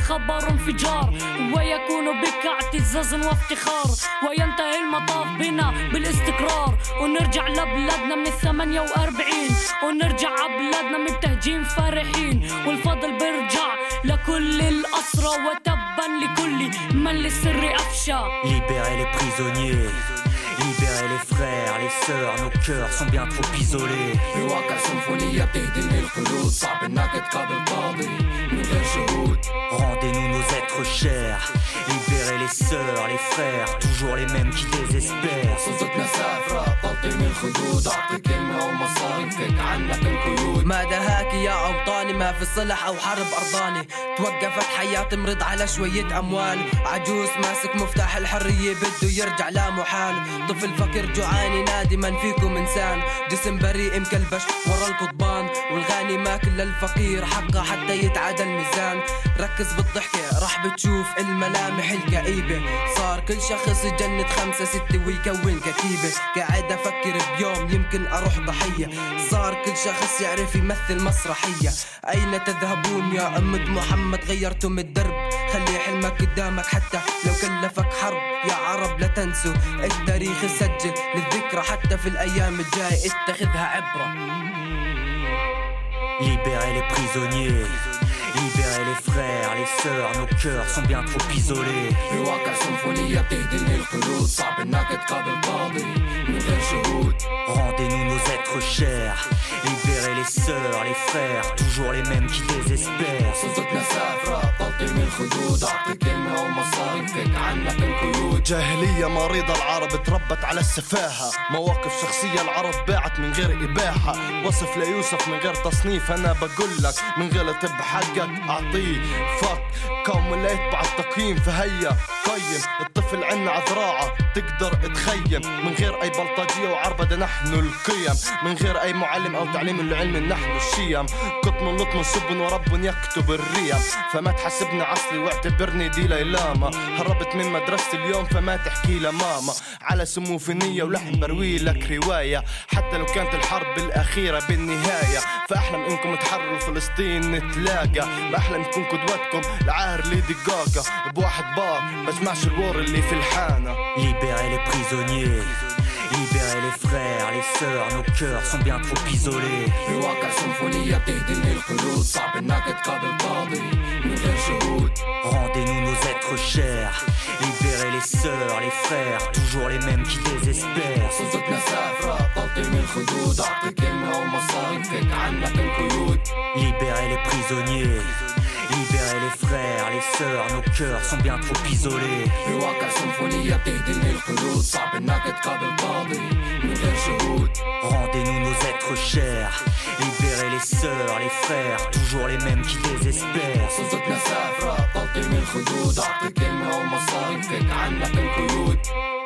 خبر انفجار ويكون بك اعتزاز وافتخار وينتهي المطاف بنا بالاستقرار ونرجع لبلادنا من 48 ونرجع عبلادنا من تهجين فرحين والفضل بيرجع لكل الأسرى وتبا لكل من للسر أفشى. Libérer les prisonniers, libérer les frères, les sœurs, nos cœurs sont bien trop isolés. بواقع سيمفونية بتهدم القلوب صعب انك تقابل قاضي من غير شهود. Rendez-nous nos êtres chers, libérer les sœurs, les frères, toujours les mêmes qui désespèrent. صوتنا سافرة تلطيم الخدود أعطي كلمة ومصاري فك عنك القيود. ما دهاك يا أوطاني ما في صلح أو حرب أرضاني توقفت حياتي مرض على شوية أموال عجوز ماسك مفتاح الحرية بده يرجع لا محال طفل فقير جوعان ينادي من فيكم إنسان جسم بريء مكلبش ورا القضبان والغني ماكل للفقير حقه حتى يتعادل الميزان ركز بالضحكة راح بتشوف الملامح الكئيبة صار كل شخص يجند 5 6 ويكون كتيبة قاعد أفكر بيوم يمكن أروح ضحية صار كل شخص يعرف يمثل مسرحية أين تذهبون يا أمة محمد غيرتم الدرب خلي حلمك قدامك حتى لو كلفك حرب يا عرب لا تنسوا التاريخ يسجل للذكرى حتى في الأيام الجاية اتخذها عبرة. Libérer les prisonniers, libérer les frères, les sœurs, nos cœurs sont bien trop isolés. بواقع سيمفونية بتهدم القلوب صعب انك تقابل قاضي من غير شهود. Rendez-nous nos êtres chers, libérer les sœurs, les frères, toujours les mêmes qui désespèrent. صوتنا سافرة تلطيم الخدود أعطي كلمة ومصاري فك عنك القيود. جاهلية مريضة العرب تربت على السفاهة مواقف شخصية العرب باعت من غير إباحة وصف ليوسف من غير تصنيف أنا بقولك من غلط بحقك أعطيه فك قوم لا يتبع التقييم فهيا قيم الطفل عنا عذراعة تقدر تخيم من غير أي بلطجية وعربدة نحن القيم من غير أي معلم أو تعليم العلم نحن الشيم قطن لطم سب ورب يكتب الريم فما تحسبني عصلي واعتبرني دي ليلاما هربت من مدرسة اليوم فما تحكي لماما على سمو في نية ولحن بروي لك رواية حتى لو كانت الحرب الأخيرة بالنهاية فأحلم إنكم تحرروا فلسطين نتلاقى بأحلم تكون قدوتكم العاهر ليدي غاغا بواحد بار بسمعش الوار اللي في الحانة. Libérer les prisonniers, libérer les frères, les sœurs, nos cœurs sont bien trop isolés. بواقع سيمفونية بتهدم القلوب صعب انك تقابل قاضي من غير شهود. Rendez-nous nos êtres chers, libérer les sœurs, les frères, toujours les mêmes qui désespèrent. صوتنا سافرة تلطيم الخدود أعطي كلمة ومصاري فك عنك القيود. Libérer les prisonniers, libérer les frères, les sœurs, nos cœurs sont bien trop isolés. بواقع سيمفونية بتهدم القلوب صعب انك تقابل قاضي من غير شهود. Rendez-nous nos êtres chers, libérer les sœurs, les frères, toujours les mêmes qui désespèrent. صوتنا سافرة تلطيم الخدود أعطي كلمة ومصاري فك عنك القيود.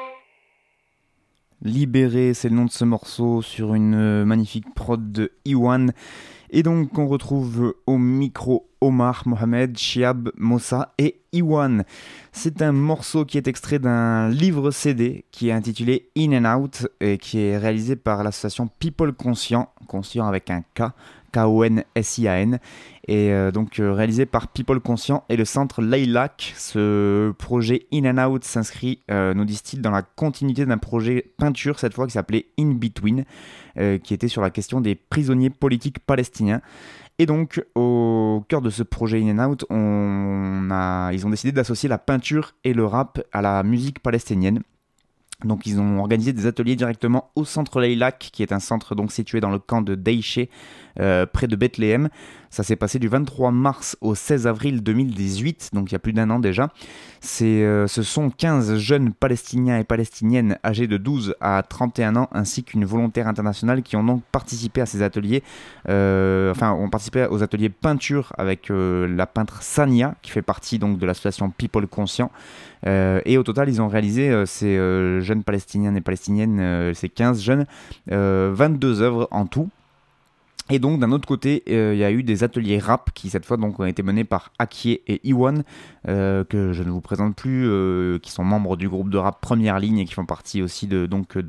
Libéré, c'est le nom de ce morceau sur une magnifique prod de Iwan. Et donc on retrouve au micro Omar, Mohamed, Chiab, Mossa et Iwan. C'est un morceau qui est extrait d'un livre CD qui est intitulé In and Out et qui est réalisé par l'association People Conscient avec un K, K-O-N-S-I-A-N, et donc réalisé par People Conscient et le centre Laylac. Ce projet In and Out s'inscrit, nous disent-ils, dans la continuité d'un projet peinture, cette fois qui s'appelait In Between, qui était sur la question des prisonniers politiques palestiniens. Et donc, au cœur de ce projet In and Out, ils ont décidé d'associer la peinture et le rap à la musique palestinienne. Donc ils ont organisé des ateliers directement au centre Laylac, qui est un centre donc situé dans le camp de Daïché, près de Bethléem. Ça s'est passé du 23 mars au 16 avril 2018, donc il y a plus d'un an déjà. Ce sont 15 jeunes Palestiniens et Palestiniennes âgés de 12 à 31 ans, ainsi qu'une volontaire internationale qui ont donc participé à ces ateliers, ont participé aux ateliers peinture avec la peintre Sania, qui fait partie donc de l'association People Conscient. Et au total, ils ont réalisé, ces jeunes Palestiniens et Palestiniennes, ces 15 jeunes, 22 œuvres en tout. Et donc d'un autre côté, il y a eu des ateliers rap qui cette fois donc ont été menés par Akie et Iwan, que je ne vous présente plus, qui sont membres du groupe de rap Première Ligne et qui font partie aussi du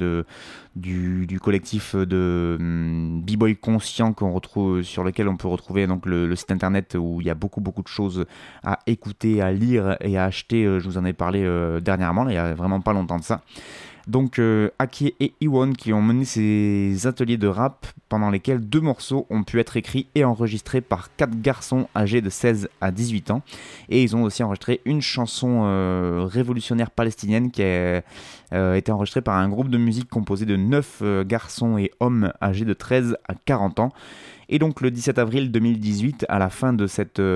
collectif de B-Boy Conscient qu'on retrouve, sur lequel on peut retrouver donc le site internet où il y a beaucoup de choses à écouter, à lire et à acheter. Je vous en ai parlé dernièrement, il y a vraiment pas longtemps de ça. Donc Akie et Iwan qui ont mené ces ateliers de rap pendant lesquels 2 morceaux ont pu être écrits et enregistrés par 4 garçons âgés de 16 à 18 ans. Et ils ont aussi enregistré une chanson révolutionnaire palestinienne qui a été enregistrée par un groupe de musique composé de 9 garçons et hommes âgés de 13 à 40 ans. Et donc le 17 avril 2018, à la fin de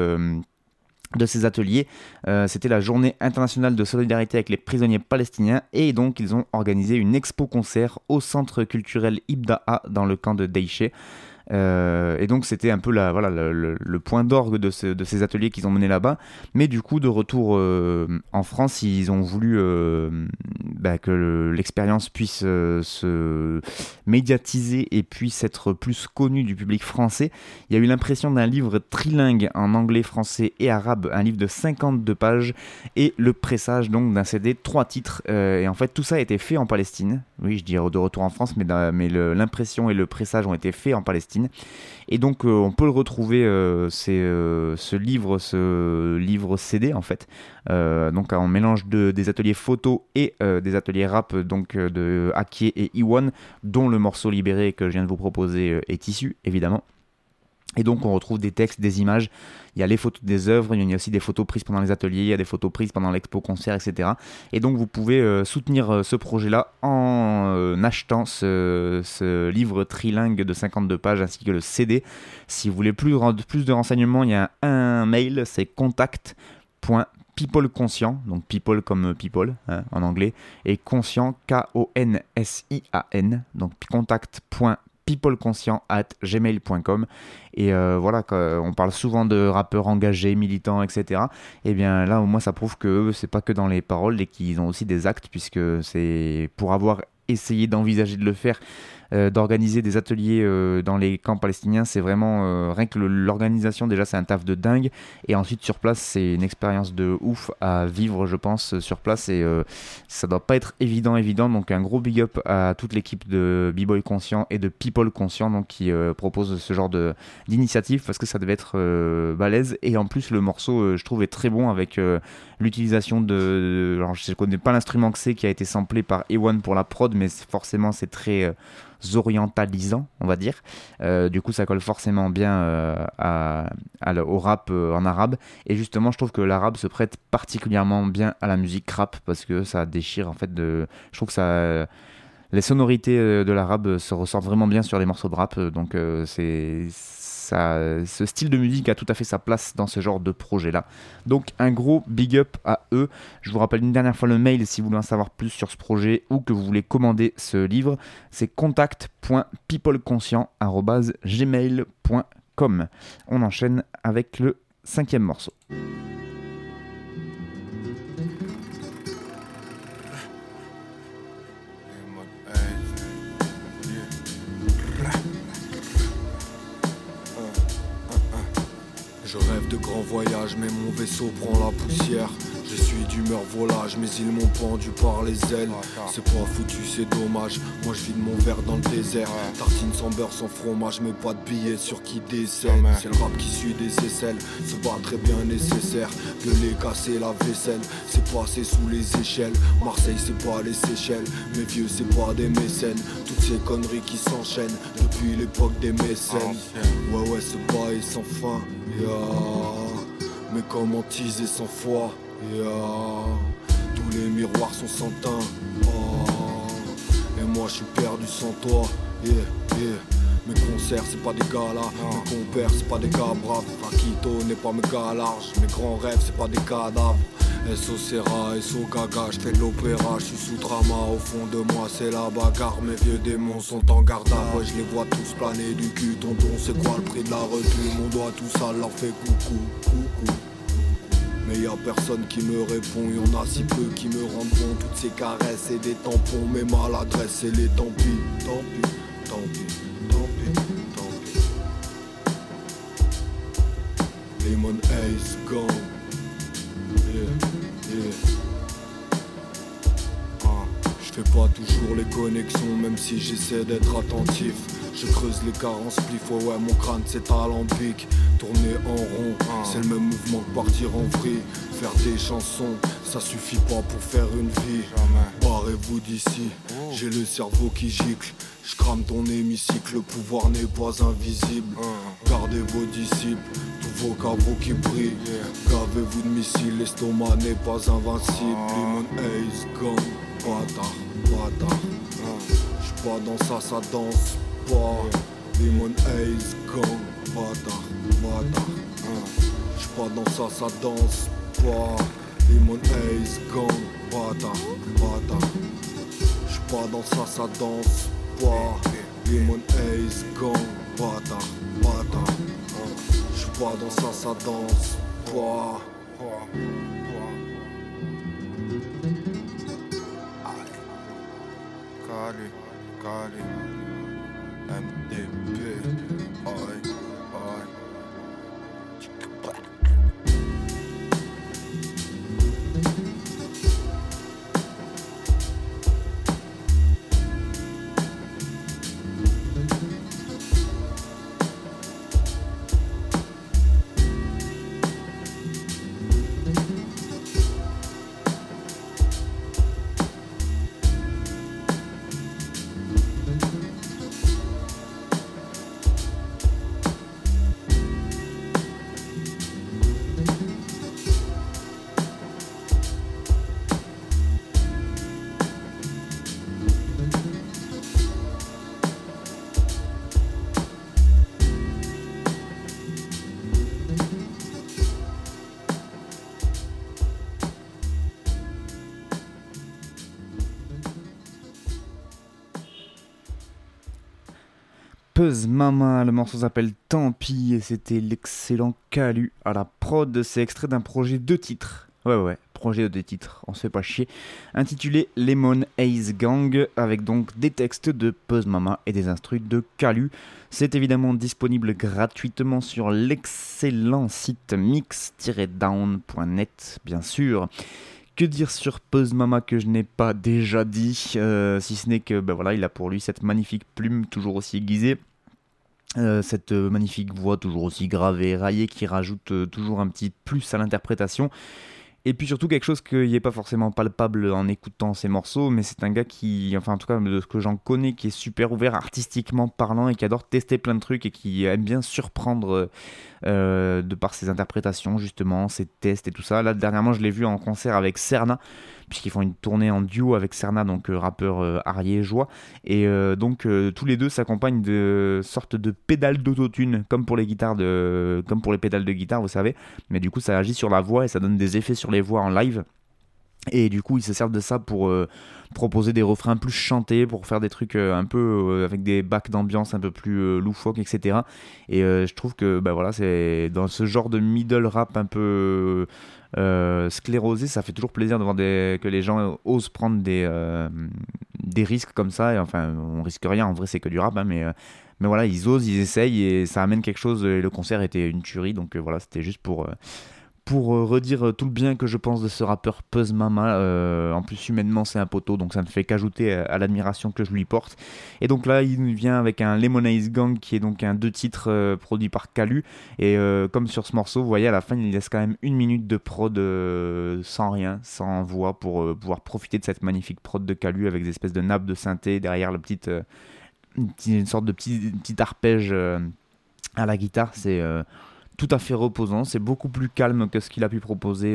ces ateliers, c'était la journée internationale de solidarité avec les prisonniers palestiniens et donc ils ont organisé une expo-concert au centre culturel Ibdaa dans le camp de Deïché. Et donc c'était un peu le point d'orgue de ces ateliers qu'ils ont menés là-bas, mais du coup de retour en France, ils ont voulu que l'expérience puisse se médiatiser et puisse être plus connue du public français. Il y a eu l'impression d'un livre trilingue en anglais, français et arabe, un livre de 52 pages et le pressage donc d'un CD, 3 titres, et en fait tout ça a été fait en Palestine. Oui, je dis de retour en France, mais l'impression et le pressage ont été faits en Palestine. Et donc on peut le retrouver ce livre CD en fait, donc en mélange des ateliers photos et des ateliers rap donc de Akie et Iwan, dont le morceau Libéré que je viens de vous proposer est issu évidemment. Et donc on retrouve des textes, des images, il y a les photos des œuvres, il y a aussi des photos prises pendant les ateliers, il y a des photos prises pendant l'expo-concert, etc. Et donc vous pouvez soutenir ce projet-là en achetant ce livre trilingue de 52 pages ainsi que le CD. Si vous voulez plus de renseignements, il y a un mail, c'est contact.peopleconscient, donc people comme people en anglais, et conscient, Konsian, donc contact.peopleconscient@gmail.com. Et voilà, on parle souvent de rappeurs engagés, militants, etc. Et bien là au moins ça prouve que c'est pas que dans les paroles et qu'ils ont aussi des actes, puisque c'est pour avoir essayé d'envisager de le faire, d'organiser des ateliers dans les camps palestiniens, c'est vraiment rien que l'organisation déjà c'est un taf de dingue, et ensuite sur place c'est une expérience de ouf à vivre je pense sur place, et ça doit pas être évident, donc un gros big up à toute l'équipe de B-Boy Conscient et de People Conscient donc qui propose ce genre d'initiative, parce que ça devait être balèze, et en plus le morceau je trouve est très bon avec l'utilisation alors je connais pas l'instrument que c'est qui a été samplé par Ewan pour la prod, mais forcément c'est très orientalisant on va dire, du coup ça colle forcément bien au rap en arabe, et justement je trouve que l'arabe se prête particulièrement bien à la musique rap parce que ça déchire en fait je trouve que les sonorités de l'arabe se ressortent vraiment bien sur les morceaux de rap, donc ce style de musique a tout à fait sa place dans ce genre de projet-là. Donc un gros big up à eux. Je vous rappelle une dernière fois le mail si vous voulez en savoir plus sur ce projet ou que vous voulez commander ce livre. C'est contact.peopleconscient@gmail.com. On enchaîne avec le 5e morceau. Je rêve de grands voyages, mais mon vaisseau prend la poussière. Je suis d'humeur volage, mais ils m'ont pendu par les ailes. C'est pas foutu, c'est dommage. Moi je vide mon verre dans le désert. Tartine sans beurre, sans fromage, mais pas de billets sur qui décède. C'est le rap qui suit des aisselles, se bat très bien nécessaire. Gueuler, casser la vaisselle, c'est passé sous les échelles. Marseille c'est pas les Seychelles, mes vieux c'est pas des mécènes. Toutes ces conneries qui s'enchaînent depuis l'époque des mécènes. Ouais ce bail sans fin, mais comment teaser sans foi. Tous les miroirs sont sans teint, et moi je suis perdu sans toi. Mes concerts c'est pas des gars là, mes compères c'est pas des gars braves. Rakito n'est pas mes gars larges, mes grands rêves c'est pas des cadavres. SO Serra, SO Gaga, j'fais de l'opéra, j'suis sous drama. Au fond de moi c'est la bagarre, mes vieux démons sont en garde à moi. Je les vois tous planer du cul, tonton c'est quoi le prix de la retenue. Mon doigt tout sale leur fait coucou. Mais y'a personne qui me répond, y'en a si peu qui me rendent bon. Toutes ces caresses et des tampons, mes maladresses et les tant pis. Lemon Ace Gang. Je fais pas toujours les connexions, même si j'essaie d'être attentif. Je creuse les carences, spliff, ouais mon crâne c'est alambic. Tourner en rond, c'est le même mouvement que partir en vrille. Faire des chansons, ça suffit pas pour faire une vie. Barrez-vous d'ici, j'ai le cerveau qui gicle. Je crame ton hémicycle, le pouvoir n'est pas invisible. Gardez vos disciples, tous vos caveaux qui brillent. Gavez-vous de missiles, l'estomac n'est pas invincible. Lemon Ace Gang, bâtard, bâtard. J'suis pas dans ça, ça danse pas. Lemon Ace Gang, bâtard, bâtard. J'suis pas dans ça, ça danse pas. Lemon Ace Gang, bâtard, bâtard. J'suis pas dans ça, ça danse pas. Lemon Ace Gang, bâtard, bâtard. J'suis pas dans ça, ça danse pas. Cali, Cali, MDP, aïe, aïe. Puzz Mama, le morceau s'appelle Tant pis et c'était l'excellent Calu à la prod. C'est extrait d'un projet de titres. Ouais, projet de titres, on se fait pas chier. Intitulé Lemon Ace Gang, avec donc des textes de Puzz Mama et des instrus de Calu. C'est évidemment disponible gratuitement sur l'excellent site mix-down.net, bien sûr. Que dire sur Puzz Mama que je n'ai pas déjà dit, si ce n'est que voilà, il a pour lui cette magnifique plume toujours aussi aiguisée, cette magnifique voix toujours aussi grave et raillée qui rajoute toujours un petit plus à l'interprétation. Et puis surtout quelque chose qui n'est pas forcément palpable en écoutant ces morceaux, mais c'est un gars qui, enfin en tout cas de ce que j'en connais, qui est super ouvert artistiquement parlant et qui adore tester plein de trucs et qui aime bien surprendre de par ses interprétations justement, ses tests et tout ça. Là dernièrement je l'ai vu en concert avec Serna, puisqu'ils font une tournée en duo avec Serna, donc rappeur ariégeois, et donc tous les deux s'accompagnent de sortes de pédales d'autotune, comme pour les pédales de guitare, vous savez, mais du coup ça agit sur la voix et ça donne des effets sur les voix en live. Et du coup ils se servent de ça pour proposer des refrains plus chantés, pour faire des trucs un peu avec des bacs d'ambiance un peu plus loufoques, etc. Et je trouve que voilà, c'est dans ce genre de middle rap un peu sclérosé, ça fait toujours plaisir de voir que les gens osent prendre des risques comme ça. Et enfin on risque rien, en vrai c'est que du rap, hein, mais voilà, ils osent, ils essayent et ça amène quelque chose. Et le concert était une tuerie, donc voilà, c'était juste pour redire tout le bien que je pense de ce rappeur Puzz Mama. En plus humainement c'est un poteau, donc ça ne fait qu'ajouter à l'admiration que je lui porte. Et donc là il vient avec un Lemon Ace Gang qui est donc un 2 titres produit par Calu. Et comme sur ce morceau, vous voyez à la fin il laisse quand même 1 minute de prod sans rien, sans voix, pour pouvoir profiter de cette magnifique prod de Calu avec des espèces de nappes de synthé derrière une sorte de petit arpège à la guitare. C'est tout à fait reposant, c'est beaucoup plus calme que ce qu'il a pu proposer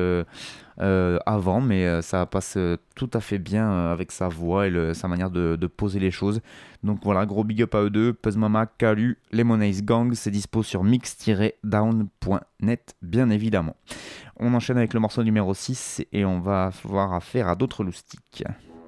avant, mais ça passe tout à fait bien avec sa voix et sa manière de poser les choses. Donc voilà, gros big up à eux deux, Puzz Mama, Calu, Lemon Ace Gang, c'est dispo sur mix-down.net bien évidemment. On enchaîne avec le morceau numéro 6 et on va avoir affaire à d'autres loustiques.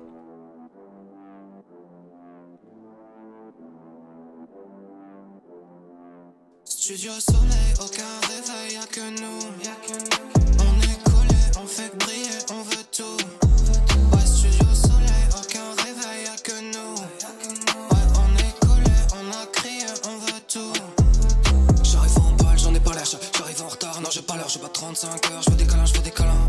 Studio soleil, aucun réveil, y'a que nous. On est collés, on fait briller, on veut tout. Ouais, studio soleil, aucun réveil, y'a que nous. Ouais, on est collés, on a crié, on veut tout. J'arrive en balle, j'en ai pas l'air, j'arrive en retard, fait des câlins.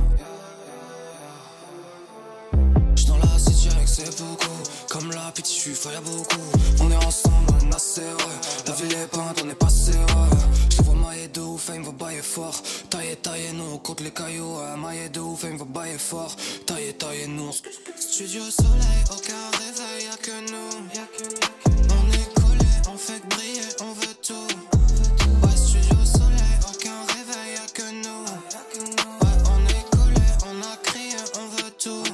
J'suis dans la city avec c'est beaucoup. Comme la petite, j'suis fort, y'a beaucoup. On est ensemble, on est assez heureux. La ville est peinte, on est passé heureux. J'te vois mailler de ouf, il me va bailler fort. Tailler, nous, on compte les cailloux. Mailler de ouf, il me va bailler fort. Tailler, nous. Studio soleil, aucun réveil, y'a que nous. On est collés, on fait que briller, on veut tout. Ouais, studio soleil, aucun réveil, y'a que nous. Ouais, on est collés, on a crié, on veut tout.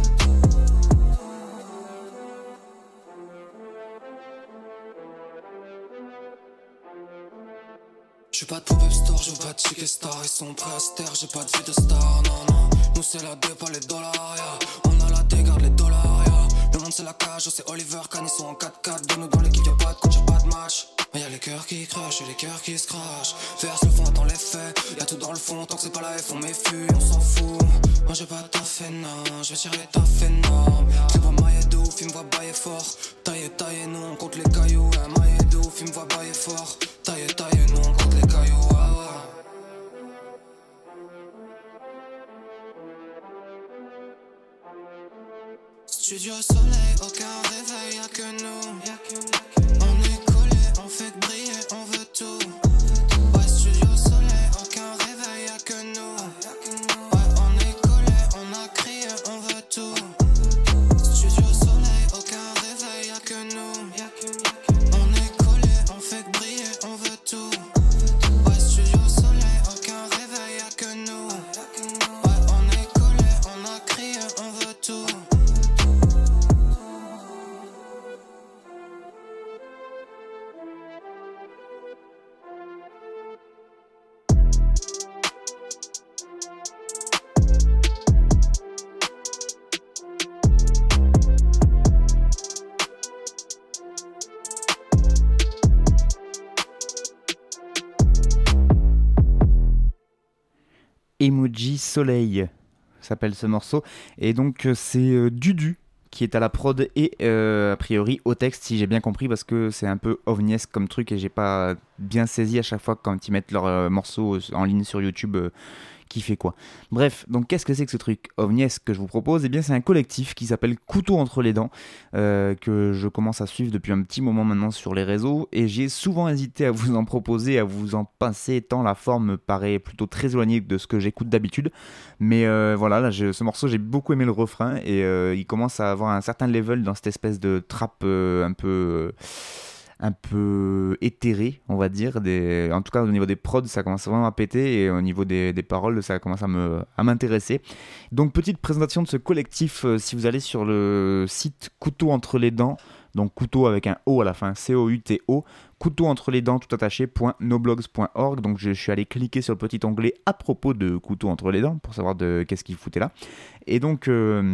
J'suis pas de pop-up store, j'joue pas de chic star. Ils sont prêts à se taire, j'ai pas de vie de star, non, non. Nous c'est la dé, pas les dollars, yeah. On a la dé, garde les dollars, yeah. Le monde c'est la cage, c'est Oliver Kahn, ils sont en 4-4. De nous dans l'équipe, y'a pas de coach, y'a pas de match. Mais y'a les cœurs qui crachent et les cœurs qui se crachent. Verse le fond, attends les faits. Y'a tout dans le fond, tant que c'est pas la F, on méfie, on s'en fout. Moi j'ai pas taffé, non, j'vais tirer taffé, non. C'est pas mailler de ouf, il me voit bailler fort. Tailler, nous, on compte les cailloux. Mailler de ouf, il me voit bailler fort. Tailler, nous, on compte les cailloux. Studio soleil, aucun réveil, y'a que nous. On est collés, on fait que briller, on veut tout. Ouais, studio soleil, aucun réveil, y'a que nous. Ouais, on est collés, on a crié, on veut tout. Studio soleil, aucun réveil, y'a que nous. On est collés, on fait que briller, on veut tout. Ouais, studio soleil, aucun réveil, y'a que nous. Ouais, on est collés, on a crié, on veut tout. Emoji Soleil s'appelle ce morceau, et donc c'est Dudu qui est à la prod et a priori au texte, si j'ai bien compris, parce que c'est un peu ovniesque comme truc et j'ai pas bien saisi à chaque fois quand ils mettent leurs morceaux en ligne sur YouTube qui fait quoi. Bref, donc qu'est-ce que c'est que ce truc ovniesque que je vous propose ? Eh bien c'est un collectif qui s'appelle Couteau entre les dents, que je commence à suivre depuis un petit moment maintenant sur les réseaux, et j'ai souvent hésité à vous en proposer, à vous en passer, tant la forme me paraît plutôt très éloignée de ce que j'écoute d'habitude. Mais voilà, là, ce morceau, j'ai beaucoup aimé le refrain, et il commence à avoir un certain level dans cette espèce de trap un peu éthéré, on va dire. En tout cas, au niveau des prods, ça commence vraiment à péter, et au niveau des paroles, ça commence à m'intéresser. Donc, petite présentation de ce collectif, si vous allez sur le site Couteau entre les dents, donc couteau avec un O à la fin, C-O-U-T-O, couteau entre les dents tout attaché.noblogs.org. Donc je suis allé cliquer sur le petit onglet à propos de Couteau entre les dents pour savoir de qu'est-ce qu'il foutait là. Et donc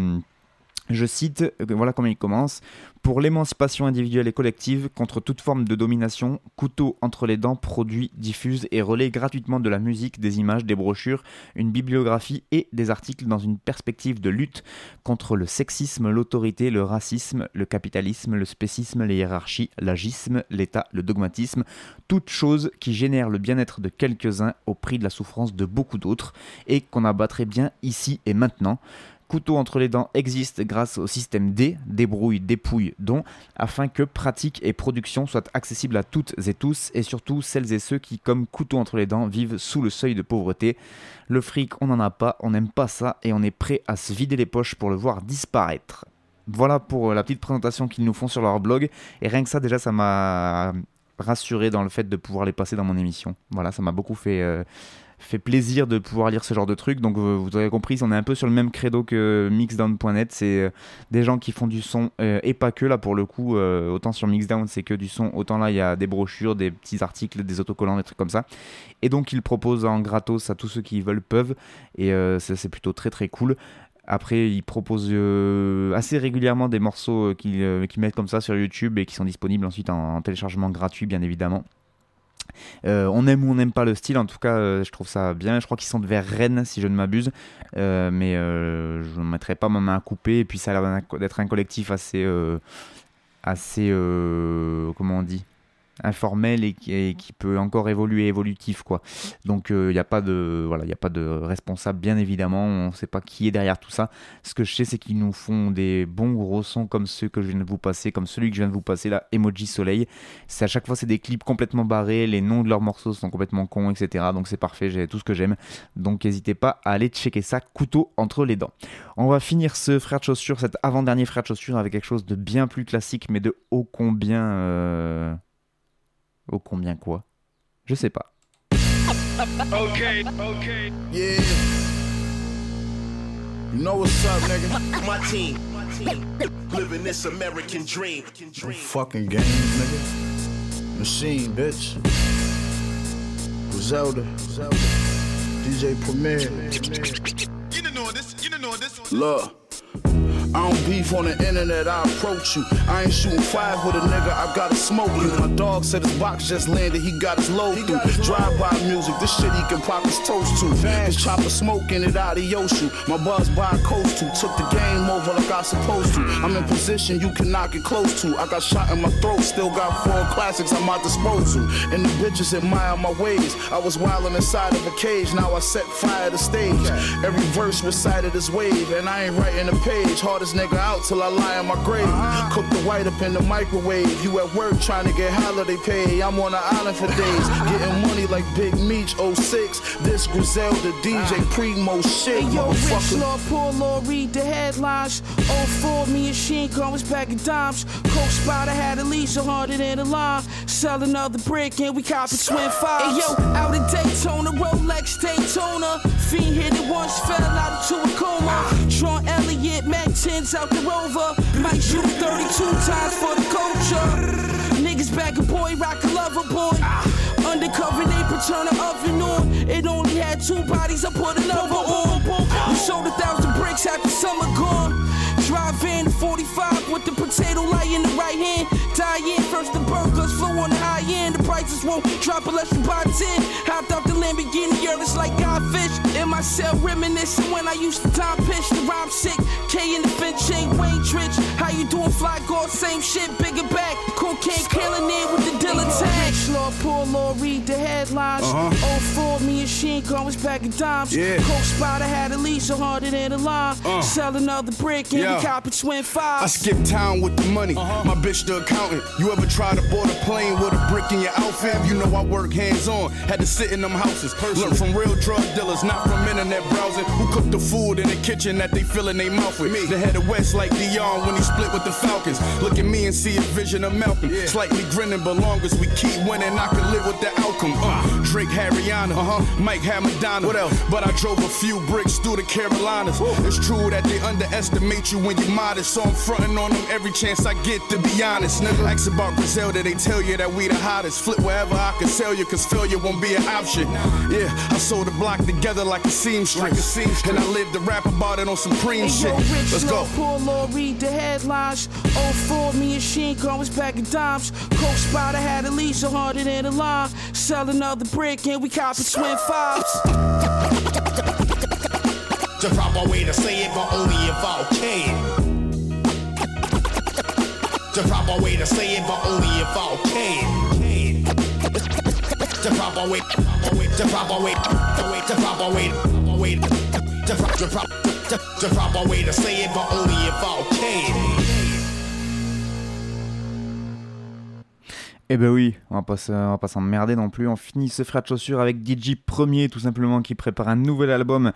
je cite, voilà comment il commence. Pour l'émancipation individuelle et collective, contre toute forme de domination, Couteau entre les dents produit, diffuse et relaie gratuitement de la musique, des images, des brochures, une bibliographie et des articles dans une perspective de lutte contre le sexisme, l'autorité, le racisme, le capitalisme, le spécisme, les hiérarchies, l'agisme, l'État, le dogmatisme, toutes choses qui génèrent le bien-être de quelques-uns au prix de la souffrance de beaucoup d'autres et qu'on abattrait bien ici et maintenant. Couteau entre les dents existe grâce au système D, débrouille, dépouille, don, afin que pratique et production soient accessibles à toutes et tous, et surtout celles et ceux qui, comme couteau entre les dents, vivent sous le seuil de pauvreté. Le fric, on n'en a pas, on n'aime pas ça, et on est prêt à se vider les poches pour le voir disparaître. Voilà pour la petite présentation qu'ils nous font sur leur blog, et rien que ça, déjà, ça m'a rassuré dans le fait de pouvoir les passer dans mon émission. Voilà, ça m'a beaucoup fait plaisir de pouvoir lire ce genre de trucs. Donc vous avez compris, on est un peu sur le même credo que Mixdown.net. C'est des gens qui font du son et pas que, là pour le coup, autant sur Mixdown c'est que du son, autant là il y a des brochures, des petits articles, des autocollants, des trucs comme ça, et donc ils proposent en gratos à tous ceux qui veulent peuvent, et c'est plutôt très très cool. Après, ils proposent assez régulièrement des morceaux qu'ils mettent comme ça sur YouTube et qui sont disponibles ensuite en téléchargement gratuit, bien évidemment. On aime ou on n'aime pas le style, en tout cas je trouve ça bien. Je crois qu'ils sont vers Rennes si je ne m'abuse, mais je ne mettrai pas ma main à couper. Et puis ça a l'air d'être un collectif assez comment on dit, informel et qui peut encore évolutif quoi. Donc il y a pas de responsable bien évidemment, on sait pas qui est derrière tout ça. Ce que je sais c'est qu'ils nous font des bons gros sons comme ceux que je viens de vous passer, comme celui que je viens de vous passer là, Emoji Soleil. C'est à chaque fois c'est des clips complètement barrés, les noms de leurs morceaux sont complètement cons, etc. Donc c'est parfait, j'ai tout ce que j'aime. Donc n'hésitez pas à aller checker ça, couteau entre les dents. On va finir ce frère de chaussures, cet avant-dernier frère de chaussures avec quelque chose de bien plus classique mais de ô combien quoi? Je sais pas. Okay. Yeah. You know what's up, nigga? My team. Living this American dream. No fucking games, nigga. Machine, bitch. Griselda. DJ Premier. You don't know this. Look. I don't beef on the internet, I approach you. I ain't shooting five with a nigga, I gotta smoke you. My dog said his box just landed, he got his load through. Drive-by music, this shit he can pop his toast to. His chopper smoking it out of Yoshu. My buzz by a coast to, took the game over like I supposed to. I'm in position you cannot get close to. I got shot in my throat, still got 4 classics at my disposal. And the bitches admire my ways. I was wildin' inside of a cage, now I set fire to stage. Every verse recited as wave, and I ain't writing a page. Hardest nigga out till I lie in my grave. Cook the white up in the microwave. You at work trying to get holiday pay. I'm on the island for days, getting money like Big Meech 06. This Griselda DJ Primo shit. Hey yo, Rich Lord, poor Lord, read the headlines. 04, me and Sheen was back in dimes. Coke Spider had at least 100 in the line. Sell another brick and we cop it twin fives. Hey yo, out in Daytona, Rolex Daytona. Fiend hit it once, fell out into a coma. Sean Elliott, Mac 10s out the Rover. Might shoot 32 times for the culture. Niggas back a boy, rock a lover boy. Undercover, they turn the oven on. It only had 2 bodies, I put another on. We sold 1,000 bricks after summer gone. Drive in 45 with the potato light in the right hand. Die in first the burglars flow on the high end. The prices won't drop unless you buy 10. Hopped out the Lamborghini, it's like Godfish. In my cell reminiscing when I used to time pitch. The rhyme sick, K in the Finch ain't Wayne Trich. How you doing, Fly God? Same shit, bigger back. Cocaine killing it with the dealer tag. Rich Lord, poor Lord, read the headlines. 04, me and Sheen was back in dimes. Coke Spider had at least 100 in the line. Sell another brick and we cop it twin fives. I skip town with the money, my bitch the accountant. You ever try to board a plane with a brick in your outfit? You know I work hands-on, had to sit in them houses. Learn from real drug dealers, not from internet browsing. Who cook the food in the kitchen that they fill in their mouth with? They headed west like Dion when he split with the Falcons. Look at me and see a vision of Malcolm. Slightly grinning, but long as we keep winning, I can live with the outcome. Drake had Rihanna, Mike had Madonna. What else? But I drove a few bricks through the Carolinas. It's true that they underestimate you when you're modest, so I'm frontin' on them every chance I get, to be honest. Nigga, ask about Griselda, they tell you that we the hottest. Flip wherever I can sell you, cause failure won't be an option. Yeah, I sold the block together like a seamstress. And I lived to rap about it on Supreme shit. Let's go. Poor Lord, read the headlines. 04, me and Sheen was back in dimes. Coke Spider had at least 100 in the line. Sell another brick and we cop it twin fives. The proper way to say it, but only if I can. The proper way to say it, but only if I can. The proper way, the proper way, the proper way, the proper way to say it, but only if I can. Eh ben oui, on va pas s'emmerder non plus. On finit ce frère de chaussures avec DJ Premier, tout simplement, qui prépare un nouvel album.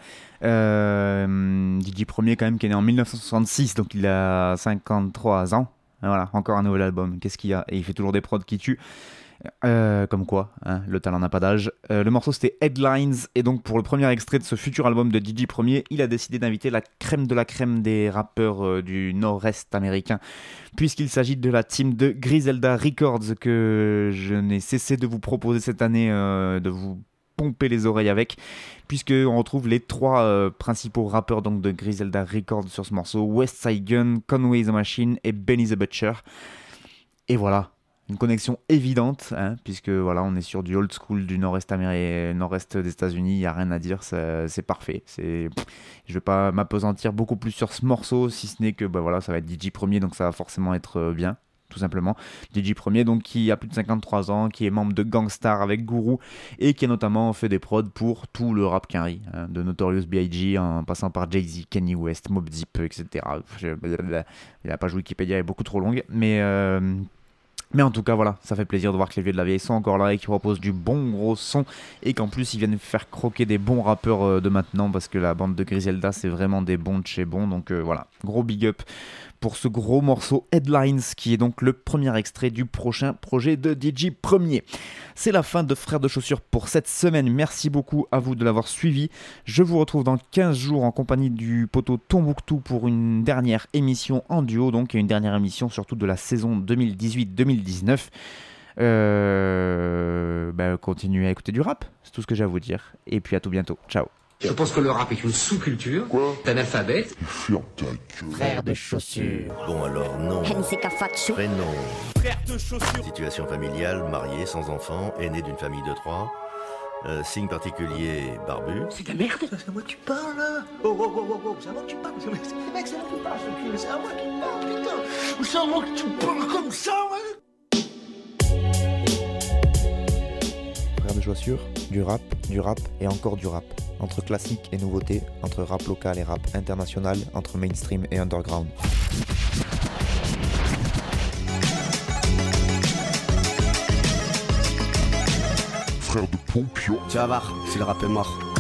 DJ Premier, quand même, qui est né en 1966, donc il a 53 ans. Et voilà, encore un nouvel album. Qu'est-ce qu'il y a ? Et il fait toujours des prods qui tuent. Comme quoi, hein, le talent n'a pas d'âge. Le morceau c'était Headlines, et donc pour le premier extrait de ce futur album de DJ Premier, il a décidé d'inviter la crème de la crème des rappeurs du nord-est américain, puisqu'il s'agit de la team de Griselda Records, que je n'ai cessé de vous proposer cette année, de vous pomper les oreilles avec, puisqu'on retrouve les 3 principaux rappeurs donc, de Griselda Records sur ce morceau: Westside Gunn, Conway the Machine et Benny the Butcher. Et voilà, une connexion évidente, hein, puisque voilà, on est sur du old school du nord-est des États-Unis, il n'y a rien à dire, c'est parfait. Je ne vais pas m'apesantir beaucoup plus sur ce morceau, si ce n'est que voilà, ça va être DJ Premier, donc ça va forcément être bien, tout simplement. DJ Premier, donc qui a plus de 53 ans, qui est membre de Gang Starr avec Guru et qui a notamment fait des prods pour tout le rap quinri, hein, de Notorious B.I.G. en passant par Jay-Z, Kanye West, Mobb Deep, etc. Il n'a pas joué Wikipédia, elle est beaucoup trop longue, mais en tout cas voilà, ça fait plaisir de voir que les vieux de la vieille sont encore là et qu'ils proposent du bon gros son et qu'en plus ils viennent faire croquer des bons rappeurs de maintenant, parce que la bande de Griselda c'est vraiment des bons de chez bons, donc voilà, gros big up pour ce gros morceau Headlines qui est donc le premier extrait du prochain projet de DJ Premier. C'est la fin de Frères de Chaussures pour cette semaine, merci beaucoup à vous de l'avoir suivi. Je vous retrouve dans 15 jours en compagnie du poteau Tombouctou pour une dernière émission en duo, donc, et une dernière émission surtout de la saison 2018-2019. Continuez à écouter du rap, c'est tout ce que j'ai à vous dire, et puis à tout bientôt, ciao. Je pense que le rap est une sous-culture. T'es analphabète. Frères de chaussures. Bon alors non. Prénom. Frères de chaussures. Situation familiale, marié, sans enfant, aîné d'une famille de 3. Signe particulier, barbu. C'est de la merde. C'est à moi que tu parles là. Oh, c'est à moi que tu parles. Mec, c'est à moi que tu parles, c'est à moi qui parle, putain. C'est à moi que tu parles comme ça, ouais. Frères de chaussures, du rap et encore du rap. Entre classique et nouveauté, entre rap local et rap international, entre mainstream et underground. Frères de Pompion. Tu vas voir, si le rap est mort.